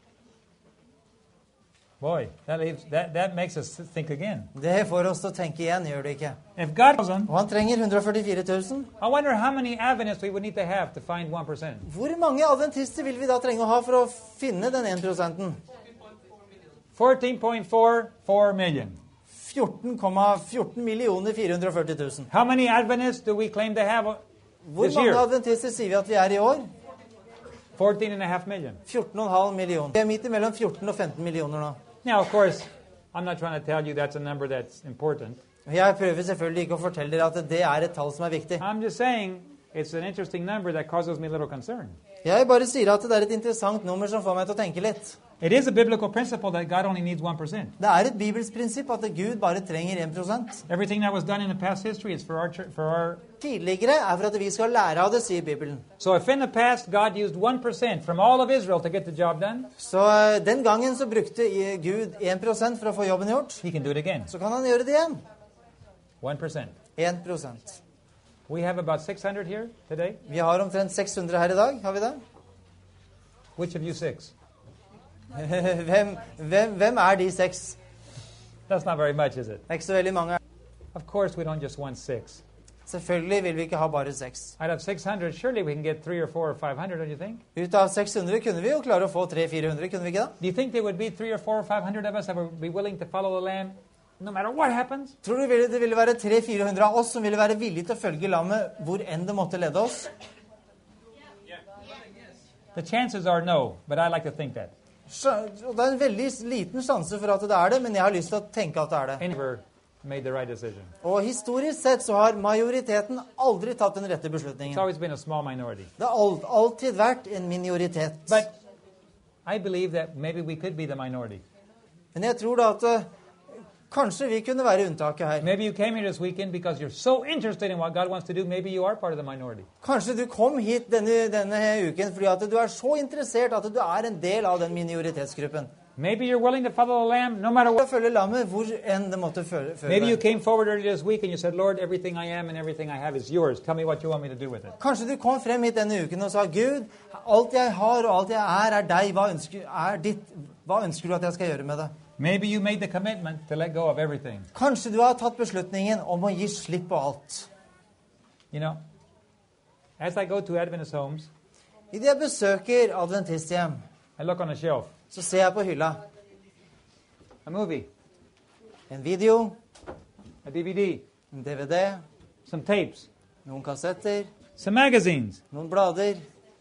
Boy, that makes us think again. Det får oss til å tenke igjen, gjør det ikke? If God doesn't, Og han trenger 144 000. I wonder how many Adventists we would need to have to find 1%. Hvor mange adventister vil vi da trenge å ha for å finne den 1%? 14.44 million. 14,14 millioner 440 000. How many Adventists do we claim to have Hvor this mange year? adventister sier vi at vi er i år? 14.5 million. 14,5 millioner. Vi er midt imellom 14 og 15 millioner nå. Now, of course, I'm not trying to tell you that's a number that's important. Jeg prøver selvfølgelig ikke å fortelle dere at det er et tall som er viktig. I'm just saying it's an interesting number that causes me a little concern. Jeg bare sier at det er et interessant nummer som får meg til å tenke litt. It is a biblical principle that God only needs 1%. Det er et bibelsk prinsipp at Gud bare trenger 1%. Everything that was done in the past history is for our Tidligere er for at vi skal lære av det, sier Bibelen. So if in the past God used 1% from all of Israel to get the job done, Så den gangen så brukte Gud 1% for å få jobben gjort. he can do it again. Så kan han gjøre det igjen. 1%. 1%. We have about 600 here today. Vi har omtrent 600 her i dag, har vi det? Which of you 6? Hvem er de 6? That's not very much, is it? Det er ikke så veldig mange. Of course we don't just want 6. Selvfølgelig vil vi ikke ha bare 6. Out of 600, surely we can get 3 or 4 or 500, don't you think? Ut av 600 kunne vi jo klare å få 300-400, kunne vi ikke da? Do you think there would be 3 or 4 or 500 of us that would be willing to follow the Lamb no matter what happens? Tror du det ville være 300-400 av oss som ville være villige til å følge lammet hvor enn det måtte lede oss? The chances are no, but I like to think that. Og det er en veldig liten sjanse for at det er det, men jeg har lyst til å tenke at det er det. Never made the right decision. Og historisk sett så har majoriteten aldri tatt den rette It's beslutningen. always been a small minority. Det har alltid vært en minoritet. But I believe that maybe we could be the minority. Men jeg tror da at kanskje vi kunne være unntaket her. Maybe you came here this weekend because you're so interested in what God wants to do. Maybe you are part of the minority. Kanskje du kom hit denne uken fordi at du er så interessert at du er en del av den minoritetsgruppen. Maybe you're willing to follow the Lamb no matter Å what. følge lammet hvor enn det måtte føre Maybe you deg. came forward earlier this week and you said, Lord, everything I am and everything I have is yours. Tell me what you want me to do with it. Kanskje du kom frem hit denne uken og sa, Gud, alt jeg har og alt jeg er deg. Er ditt. Hva ønsker du at jeg skal gjøre med det? Maybe you made the commitment to let go of everything. Kanskje du har tatt beslutningen om å gi slipp på alt. You know, as I go to Adventist homes, I det jeg besøker adventisthjem, I look on a shelf. så ser jeg på hylla A movie, en video, a DVD, en DVD, some tapes, noen kassetter, some magazines. noen blader.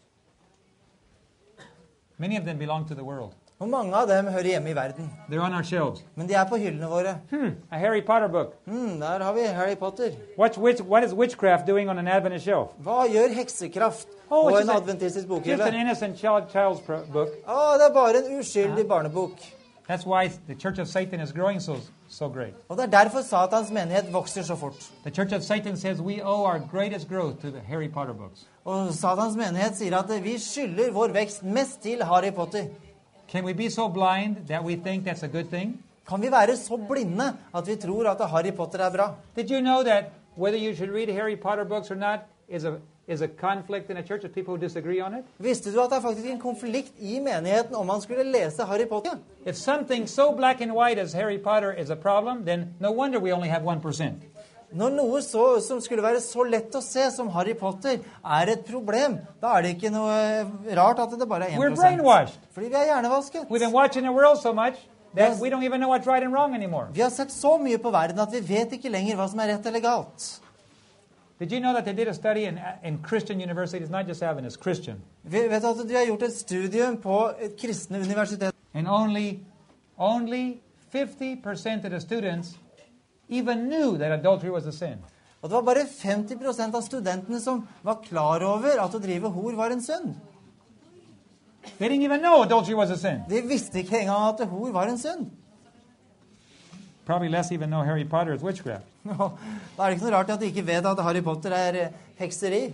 Many of them belong to the world. Og mange av dem hører hjemme i verden. They're on our shelves. Men de er på hyllene våre. A Harry Potter book. Der har vi Harry Potter. What is witchcraft doing on an Adventist shelf? Hva gjør heksekraft Oh, på it's en just adventistisk Just an bokhylle? innocent child's book. Det er bare en uskyldig barnebok. That's why the Church of Satan is growing so great. Og det er derfor Satans menighet vokser så fort. The Church of Satan says we owe our greatest growth to the Harry Potter books. Og Satans menighet sier at vi skylder vår vekst mest til Harry Potter. Can we be so blind that we think that's a good thing? Kan vi være så blinde at vi tror at Harry Potter er bra? Did you know that whether you should read Harry Potter books or not is is a conflict in a church of people who disagree on it? Visste du at det er faktisk en konflikt i menigheten om man skulle lese Harry Potter? If something so black and white as Harry Potter is a problem, then no wonder we only have 1%. Når noe som skulle være så lett å se som Harry Potter er et problem, da er det ikke noe rart at det bare er 1%. We're brainwashed. Fordi vi er hjernevasket. We've been watching the world so much that we don't even know what's right and wrong anymore. Vi har sett så mye på verden at vi vet ikke lenger hva som er rett eller galt. Did you know that they did a study in Christian universities, not just Adventist, Christian? Vi vet at de har gjort et studium på et kristne universitet. And only 50% of the students even knew that adultery was a sin. Og det var bare 50% av studentene som var klar over at å drive hor var en synd. They didn't even know adultery was a sin. De visste ikke engang at hor var en synd. Probably less even know Harry Potter is witchcraft. Da er det ikke noe rart at de ikke vet at Harry Potter er hekseri.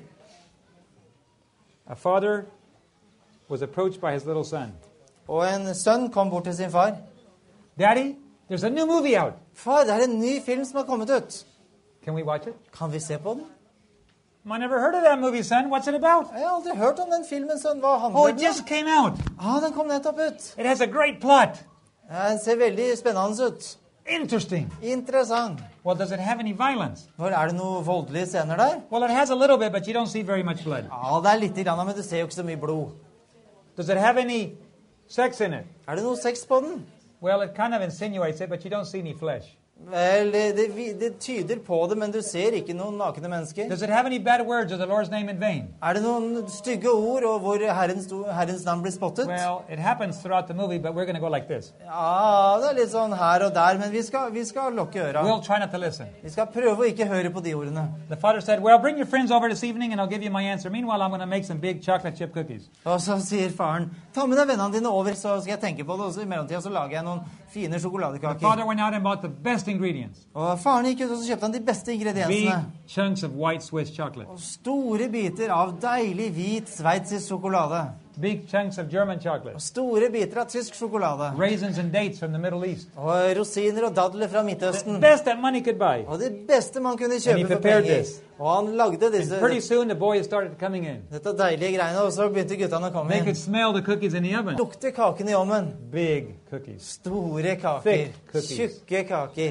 A father was approached by his little son. Og en sønn kom bort til sin far. Daddy, there's a new movie out. Far, det er en ny film som har kommet ut. Can we watch it? Kan vi se på den? I never heard of that movie, son. What's it about? Jeg har aldri hørt om den filmen, sønn. Hva handler Oh, den it om? just came out. Den kom nettopp ut. It has a great plot. Den ser veldig spennende ut. Interesting. Interessant. Well, does it have any violence? Er det noen voldelige scener der? Well, it has a little bit, but you don't see very much blood. Det er litt grann, men du ser jo ikke så mye blod. Does it have any sex in it? Er det noe sex på den? Well, it kind of insinuates it, but you don't see any flesh. Vel, det tyder på det, men du ser ikke noen nakne mennesker. Does it have any bad words of the Lord's name in vain? Er det noen stygge ord og hvor Herrens navn blir spottet? Well, it happens throughout the movie, but we're going to go like this. Ja, det er litt sånn her og der, men vi skal lukke øra. We'll try not to listen. Vi skal prøve å ikke høre på de ordene. The father said, well, bring your friends over this evening and I'll give you my answer. Meanwhile, I'm going to make some big chocolate chip cookies. Og så sier faren, ta med deg vennene dine over, så skal jeg tenke på det, og så i mellomtiden så lager jeg noen fine The sjokoladekaker. father went out and bought the best ingredients. Og faren gikk ut, og så kjøpte han de beste Big ingrediensene. chunks of white Swiss chocolate. Og store biter av deilig hvit sveitsisk sjokolade. Big chunks of German chocolate. Og store biter av tysk sjokolade. Raisins and dates from the Middle East. Og rosiner og dadler fra The Midtøsten. best that money could buy. Og det beste man kunne And he kjøpe for prepared penger. this. Og han lagde And pretty soon the boys started coming in. dette deilige greiene, og så begynte guttene å komme They could inn. smell the cookies in the oven. Lukte kakene i ovnen. Big cookies. Store kaker. Thick cookies. Tjukke kaker.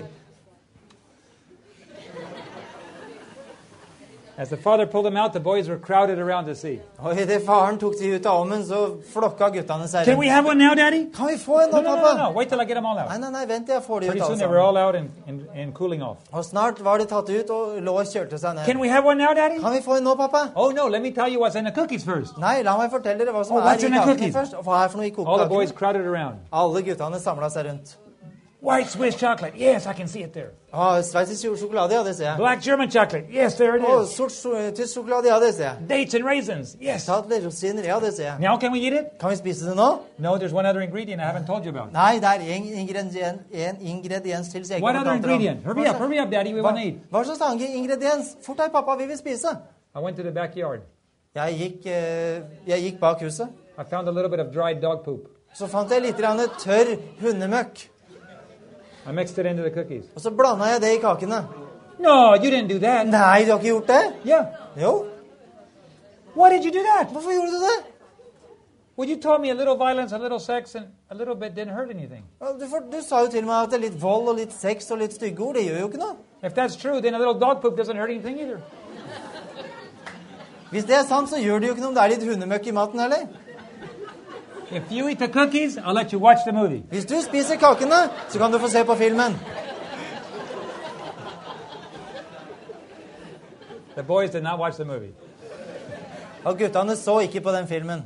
As the father pulled them out, the boys were crowded around to see. Og idet faren tok de ut av ovnen, så flokka guttene seg Can we have one now, Daddy? Kan vi få en No, nå, no, no, pappa? no, no. Wait till I get them all out. Nei, vent, jeg får de Pretty ut soon alle they were sammen. all out and cooling off. Og snart var de tatt ut og lå og kjørte seg Can ned. we have one now, Daddy? Kan vi få en nå, pappa? Oh, no, let me tell you what's in the cookies first. Nei, la meg fortelle dere hva som Oh, er what's i in the kakene cookies? først. Og hva er for noe i All the boys kokekakene? crowded around. Alle guttene samla seg rundt. White Swiss chocolate. Yes, I can see it there. Sveitsisk sjokolade, ja, det ser jeg. Black German chocolate. Yes, there it is. Sort tysk sjokolade, ja, det ser jeg. Dates and raisins. Yes. Dadler, rosiner, ja, det ser jeg. Now can we eat it? Kan vi spise det nå? No, there's one other ingredient I haven't told you about. Nei, det er en ingrediens til. Så jeg ikke What har other fortalt dere om. ingredient? Hurry up, Daddy. We want to eat. Hva slags annen ingrediens? Fort deg, pappa, vi vil spise. I went to the backyard. Jeg gikk bak huset. I found a little bit of dried dog poop. Så fant jeg litt grann tørr hundemøkk. I mixed it into the cookies. Og så blanda jeg det i kakene. No, you didn't do that. Nei, du har ikke gjort det? Yeah. Jo. Why did you do that? Hvorfor gjorde du det? Well, you told me a little violence, a little sex, and a little bit didn't hurt anything. Du sa jo til meg at det er litt vold og litt sex og litt stygge ord. Det gjør jo ikke noe. If that's true, then a little dog poop doesn't hurt anything either. Hvis det er sant, så gjør det jo ikke noe om det er litt hundemøkk i maten heller. If you eat the cookies, I'll let you watch the movie. Hvis du spiser kakene, så kan du få se på filmen. The boys did not watch the movie. Og guttene så ikke på den filmen.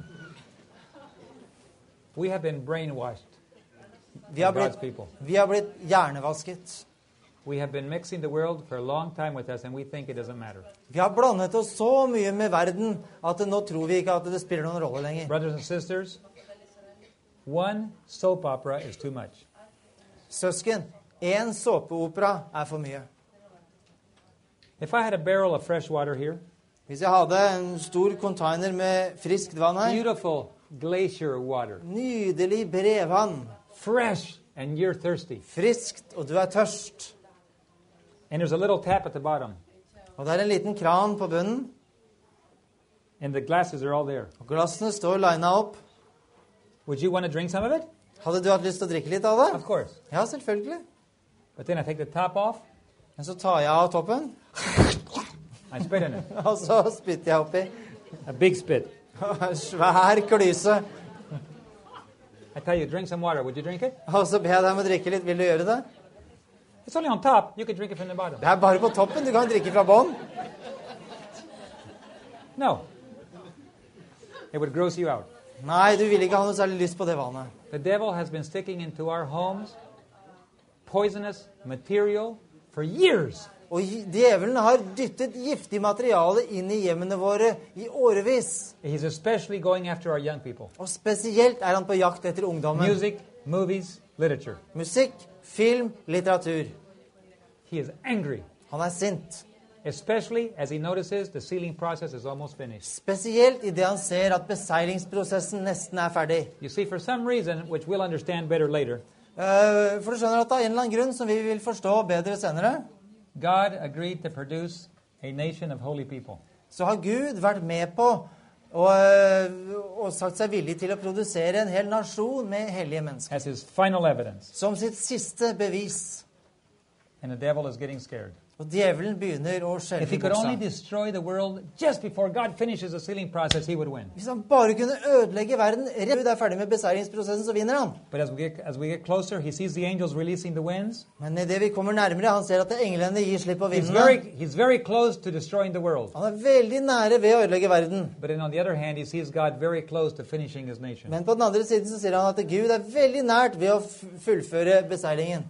We have been brainwashed. Vi har God's people. blitt hjernevasket. We have been mixing the world for a long time with us, and we think it doesn't matter. Vi har blandet oss så mye med verden at nå tror vi ikke at det spiller noen rolle lenger. Brothers and sisters, one soap opera is too much. Søsken, en såpeopera er for mye. If I had a barrel of fresh water here, Hvis jeg hadde en stor container med friskt vann her, beautiful glacier water, nydelig brevvann, fresh, and you're thirsty, friskt, og du er tørst, and there's a little tap at the bottom, og det er en liten kran på bunnen, And the glasses are all there. Og glassene står linet opp. Would you want to drink some of it? Hadde du hatt lyst til å drikke litt av det? Of course. Ja, selvfølgelig. But then I take the top off. Men så tar jeg av toppen, I spit in it. og så spytter jeg oppi. A big spit. Svær klyse. I tell you, drink some water. Would you drink it? Og så ber jeg deg om å drikke litt. Vil du gjøre det? It's only on top. You can drink it from the bottom. Det er bare på toppen. Du kan drikke fra bånn. No. It would gross you out. Nei, du vil ikke ha noe særlig lyst på det vannet. The devil has been sticking into our homes poisonous material for years. Og djevelen har dyttet giftig materiale inn i hjemmene våre i årevis. He's especially going after our young people. Og spesielt er han på jakt etter ungdommen. Music, movies, literature. Musikk, film, litteratur. He is angry, Han er sint. especially as he notices the sealing process is almost finished. Spesielt i det han ser at beseilingsprosessen nesten er ferdig. You see, for some reason, which we'll understand better later, For du skjønner at det er en eller annen grunn som vi vil forstå bedre senere, God agreed to produce a nation of holy people. så har Gud vært med på og sagt seg villig til å produsere en hel nasjon med hellige mennesker. As his final evidence. Som sitt siste bevis. And the devil is getting scared. Og djevelen begynner å If skjelve he i could only buksa. destroy the world just before God finishes the sealing process, he would win. Hvis han bare kunne ødelegge verden rett Gud er ferdig med beseiringsprosessen, så vinner han. But as we get closer, he sees the angels releasing the winds. Men i det vi kommer nærmere, han ser at englene gir slipp på vindene. He's very close to destroying the world. Han er veldig nære ved å ødelegge verden. But then on the other hand, he sees God very close to finishing his nation. Men på den andre siden så sier han at Gud er veldig nært ved å fullføre beseilingen.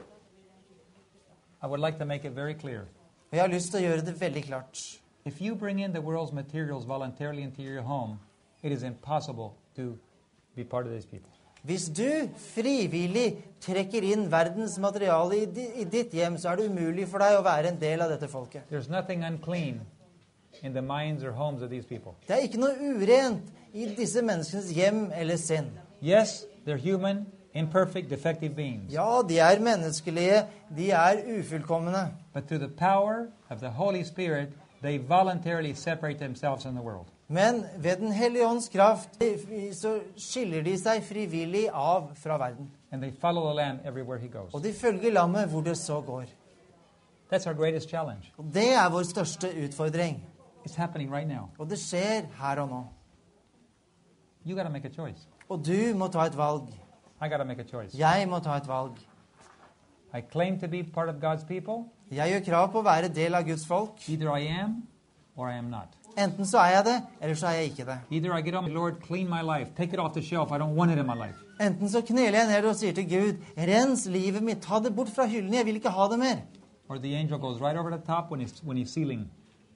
I would like to make it very clear. Og jeg har lyst til å gjøre det veldig klart. If you bring in the world's materials voluntarily into your home, it is impossible to be part of these people. Hvis du frivillig trekker inn verdens materiale i ditt hjem, så er det umulig for deg å være en del av dette folket. There's nothing unclean in the minds or homes of these people. Det er ikke noe urent i disse menneskenes hjem eller sinn. Yes, they're human, imperfect, defective beings. Ja, de er menneskelige, de er ufullkomne. But through the power of the Holy Spirit, they voluntarily separate themselves from the world. Men ved Den hellige ånds kraft så skiller de seg frivillig av fra verden. And they follow the Lamb everywhere he goes. Og de følger lammet hvor det så går. That's our greatest challenge. Og det er vår største utfordring. It's happening right now. Og det skjer her og nå. You got to make a choice. Og du må ta et valg. I got to make a choice. Jeg må ta et valg. I claim to be part of God's people. Jeg gjør krav på å være del av Guds folk. Either I am or I am not. Enten så er jeg det, eller så er jeg ikke det. Either I get on, Lord, clean my life. Take it off the shelf. I don't want it in my life. Enten så kneler jeg ned og sier til Gud, rens livet mitt, ta det bort fra hyllen, jeg vil ikke ha det mer. Or the angel goes right over the top when he's sealing.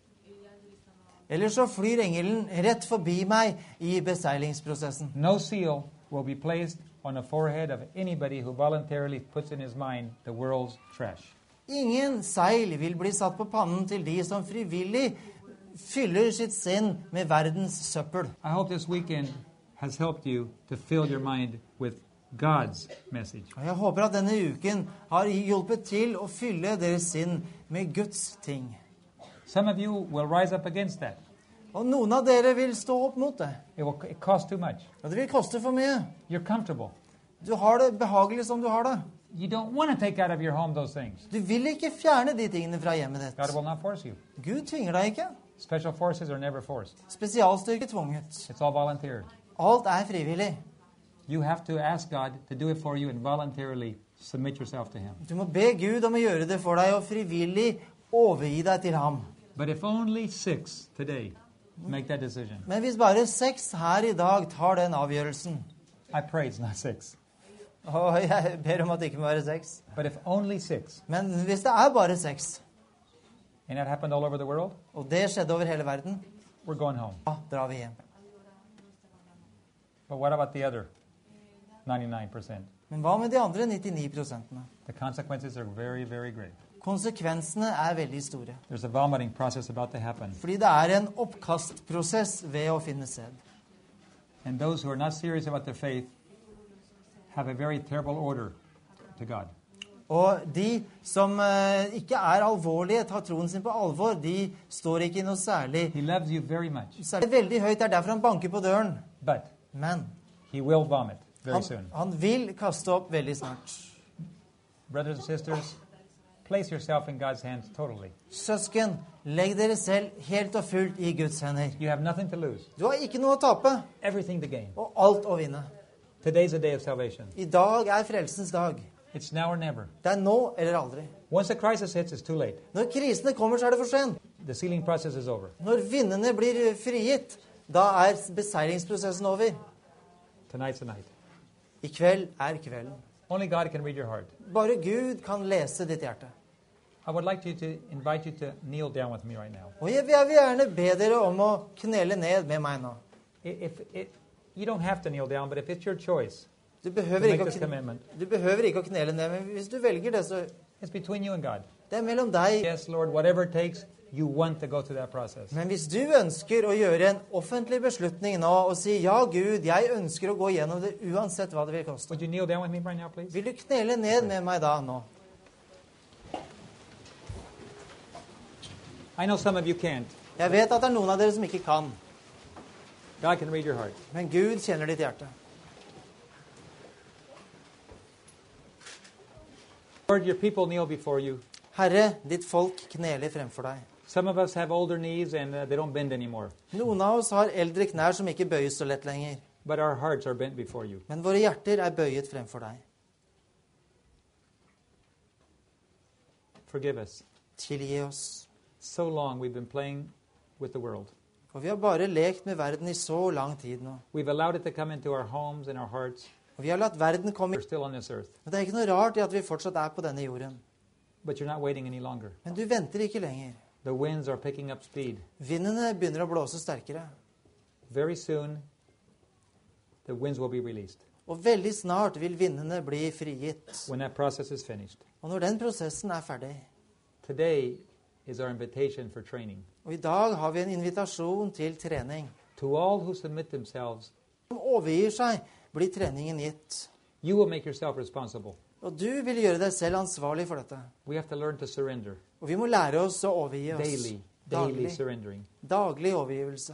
Eller så flyr engelen rett forbi meg i beseilingsprosessen. No seal will be placed on the forehead of anybody who voluntarily puts in his mind the world's trash. Ingen seil vil bli satt på pannen til de som frivillig fyller sitt sinn med verdens søppel. I hope this weekend has helped you to fill your mind with God's message. Og jeg håper at denne uken har hjulpet til å fylle deres sinn med Guds ting. Some of you will rise up against that. Og noen av dere vil stå opp mot det. It costs too much. Og det vil koste for mye. You're comfortable. Du har det behagelig som du har det. You don't want to take out of your home those things. Du vil ikke fjerne de tingene fra hjemmet ditt. God will not force you. Gud tvinger deg ikke. Special forces are never forced. Spesialstyrke tvunget. It's all volunteer. Alt er frivillig. You have to ask God to do it for you and voluntarily submit yourself to Him. Du må be Gud om å gjøre det for deg og frivillig overgi deg til ham. But if only 6 today make that decision, Men hvis bare 6 her i dag tar den avgjørelsen, I pray it's not 6. og jeg ber om at det ikke må være 6, But if only 6, men hvis det er bare 6, and that happened all over the world, og det skjedde over hele verden, we're going home. da drar vi hjem. But what about the other 99%? Men hva med de andre 99%? The consequences are very, very great. Konsekvensene er veldig store. There's a vomiting process about to happen. Fordi det er en oppkastprosess ved å finne sted. And those who are not serious about their faith have a very terrible order to God. Og de som ikke er alvorlige, tar troen sin på alvor, de står ikke i noe særlig. He loves you very much. Særlig veldig høyt, det er derfor han banker på døren. But Men he will vomit very soon. han vil kaste opp veldig snart. Brothers and sisters, place yourself in God's hands totally. Søsken, legg dere selv helt og fullt i Guds hender. You have nothing to lose, Du har ikke noe å tape, everything to gain. og alt å vinne. Today's a day of salvation. I dag er frelsens dag. It's now or never. Det er nå eller aldri. Once the crisis hits, it's too late. Når krisene kommer, så er det for sent. The sealing process is over. Når vindene blir frigitt, da er beseiringsprosessen over. Tonight's the night. I kveld er kvelden. Only God can read your heart. Bare Gud kan lese ditt hjerte. I would like to invite you to kneel down with me right now. Og jeg vil gjerne be dere om å knele ned med meg nå. You don't have to kneel down, but if it's your choice Du to behøver make ikke this å, commitment, du behøver ikke å knele ned, men hvis du velger det, så it's between you and God. det er mellom deg. Yes, Lord, whatever it takes, you want to go through that process. Men hvis du ønsker å gjøre en offentlig beslutning nå og si ja, Gud, jeg ønsker å gå gjennom det uansett hva det vil koste. Would you kneel down with me right now, please? Vil du knele ned med meg da nå? I know some of you can't. Jeg vet at det er noen av dere som ikke kan, God can read your heart. men Gud kjenner ditt hjerte. Lord, your people kneel before you. Herre, ditt folk kneler fremfor deg. Some of us have older knees and they don't bend anymore. Noen av oss har eldre knær som ikke bøyes så lett lenger, But our hearts are bent before you. men våre hjerter er bøyet fremfor deg. Forgive us. Tilgi oss. So long we've been playing with the world. For vi har bare lekt med verden i så lang tid nå. We've allowed it to come into our homes and our hearts. Og vi har latt verden komme We're still on this earth. Men det er ikke noe rart i at vi fortsatt er på denne jorden. But you're not waiting any longer. Men du venter ikke lenger. The winds are picking up speed. Vindene begynner å blåse sterkere. Very soon, the winds will be released. Og veldig snart vil vindene bli frigitt. When that process is finished. Og når den prosessen er ferdig, Today is our invitation for training. og i dag har vi en invitasjon til trening. To all who submit themselves, Som overgir seg, blir treningen gitt. you will make yourself responsible. Og du vil gjøre deg selv ansvarlig for dette. We have to learn to surrender. Og vi må lære oss å overgi oss. Daily Daglig. surrendering. Daglig overgivelse.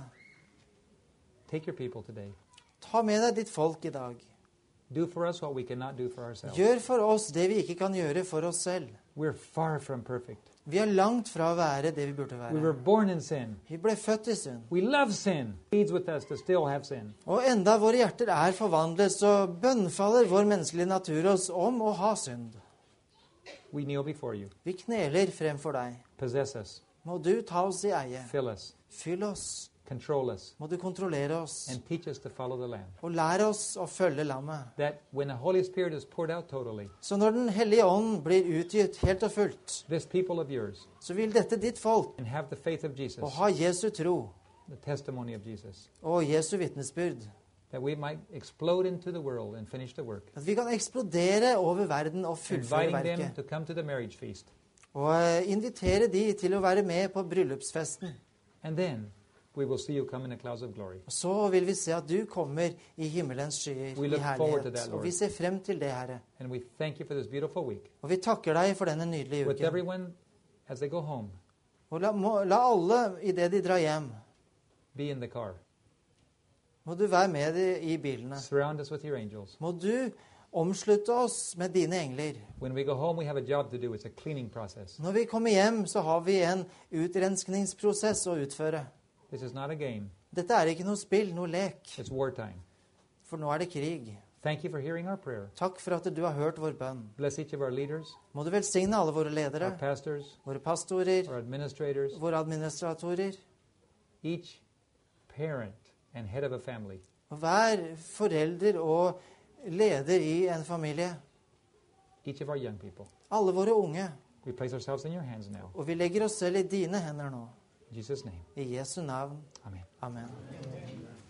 Take your people today. Ta med deg ditt folk i dag. Do for us what we cannot do for ourselves. Gjør for oss det vi ikke kan gjøre for oss selv. We're far from perfect. Vi er langt fra å være det vi burde We were være. born in sin. Vi ble født i synd. We love sin. It leads with us to still have sin. Og enda våre hjerter er forvandlet, så bønnfaller vår menneskelige natur oss om å ha synd. We kneel before you. Vi kneler fremfor deg. Possess us. Må du ta oss i eie. Fill us. Fyll oss. Control us. Må du kontrollere oss. And teach us to follow the Lamb. Og lære oss å følge lammet. That when the Holy Spirit is poured out totally, Så når Den hellige ånd blir utgitt helt og fullt, this people of yours så vil dette ditt folk and have the faith of Jesus, å ha Jesu tro the testimony of Jesus, og Jesu vitnesbyrd. that we might explode into the world and finish the work. At vi kan eksplodere over verden og fullføre Inviting them verket. to come to the marriage feast. Og invitere de til å være med på bryllupsfesten. And then we will see you come in the clouds of glory. Og så vil vi se at du kommer i himmelens skyer We i look forward to that, herlighet. Lord. Og vi ser frem til det, Herre. And we thank you for this beautiful week. Og vi takker deg for denne nydelige With uken. everyone, as they go home, Og la alle, idet de drar hjem, be in the car. må du være med i bilene. Surround us with your angels. Må du omslutte oss med dine engler. When we go home, we have a job to do. It's a cleaning process. Når vi kommer hjem, så har vi en utrenskningsprosess å utføre. This is not a game. Dette er ikke noe spill, noe lek. It's wartime. For nå er det krig. Thank you for hearing our prayer. Takk for at du har hørt vår bønn. Bless each of our leaders, Må du velsigne alle våre our ledere, pastors, våre pastorer, our administrators, våre administratorer, each parent and head of a family. og hver forelder og leder i en familie. Each of our young people. Alle våre unge. We place ourselves in your hands now. Og vi legger oss selv i dine hender nå. In Jesus' name. I Jesu navn. Amen. Amen.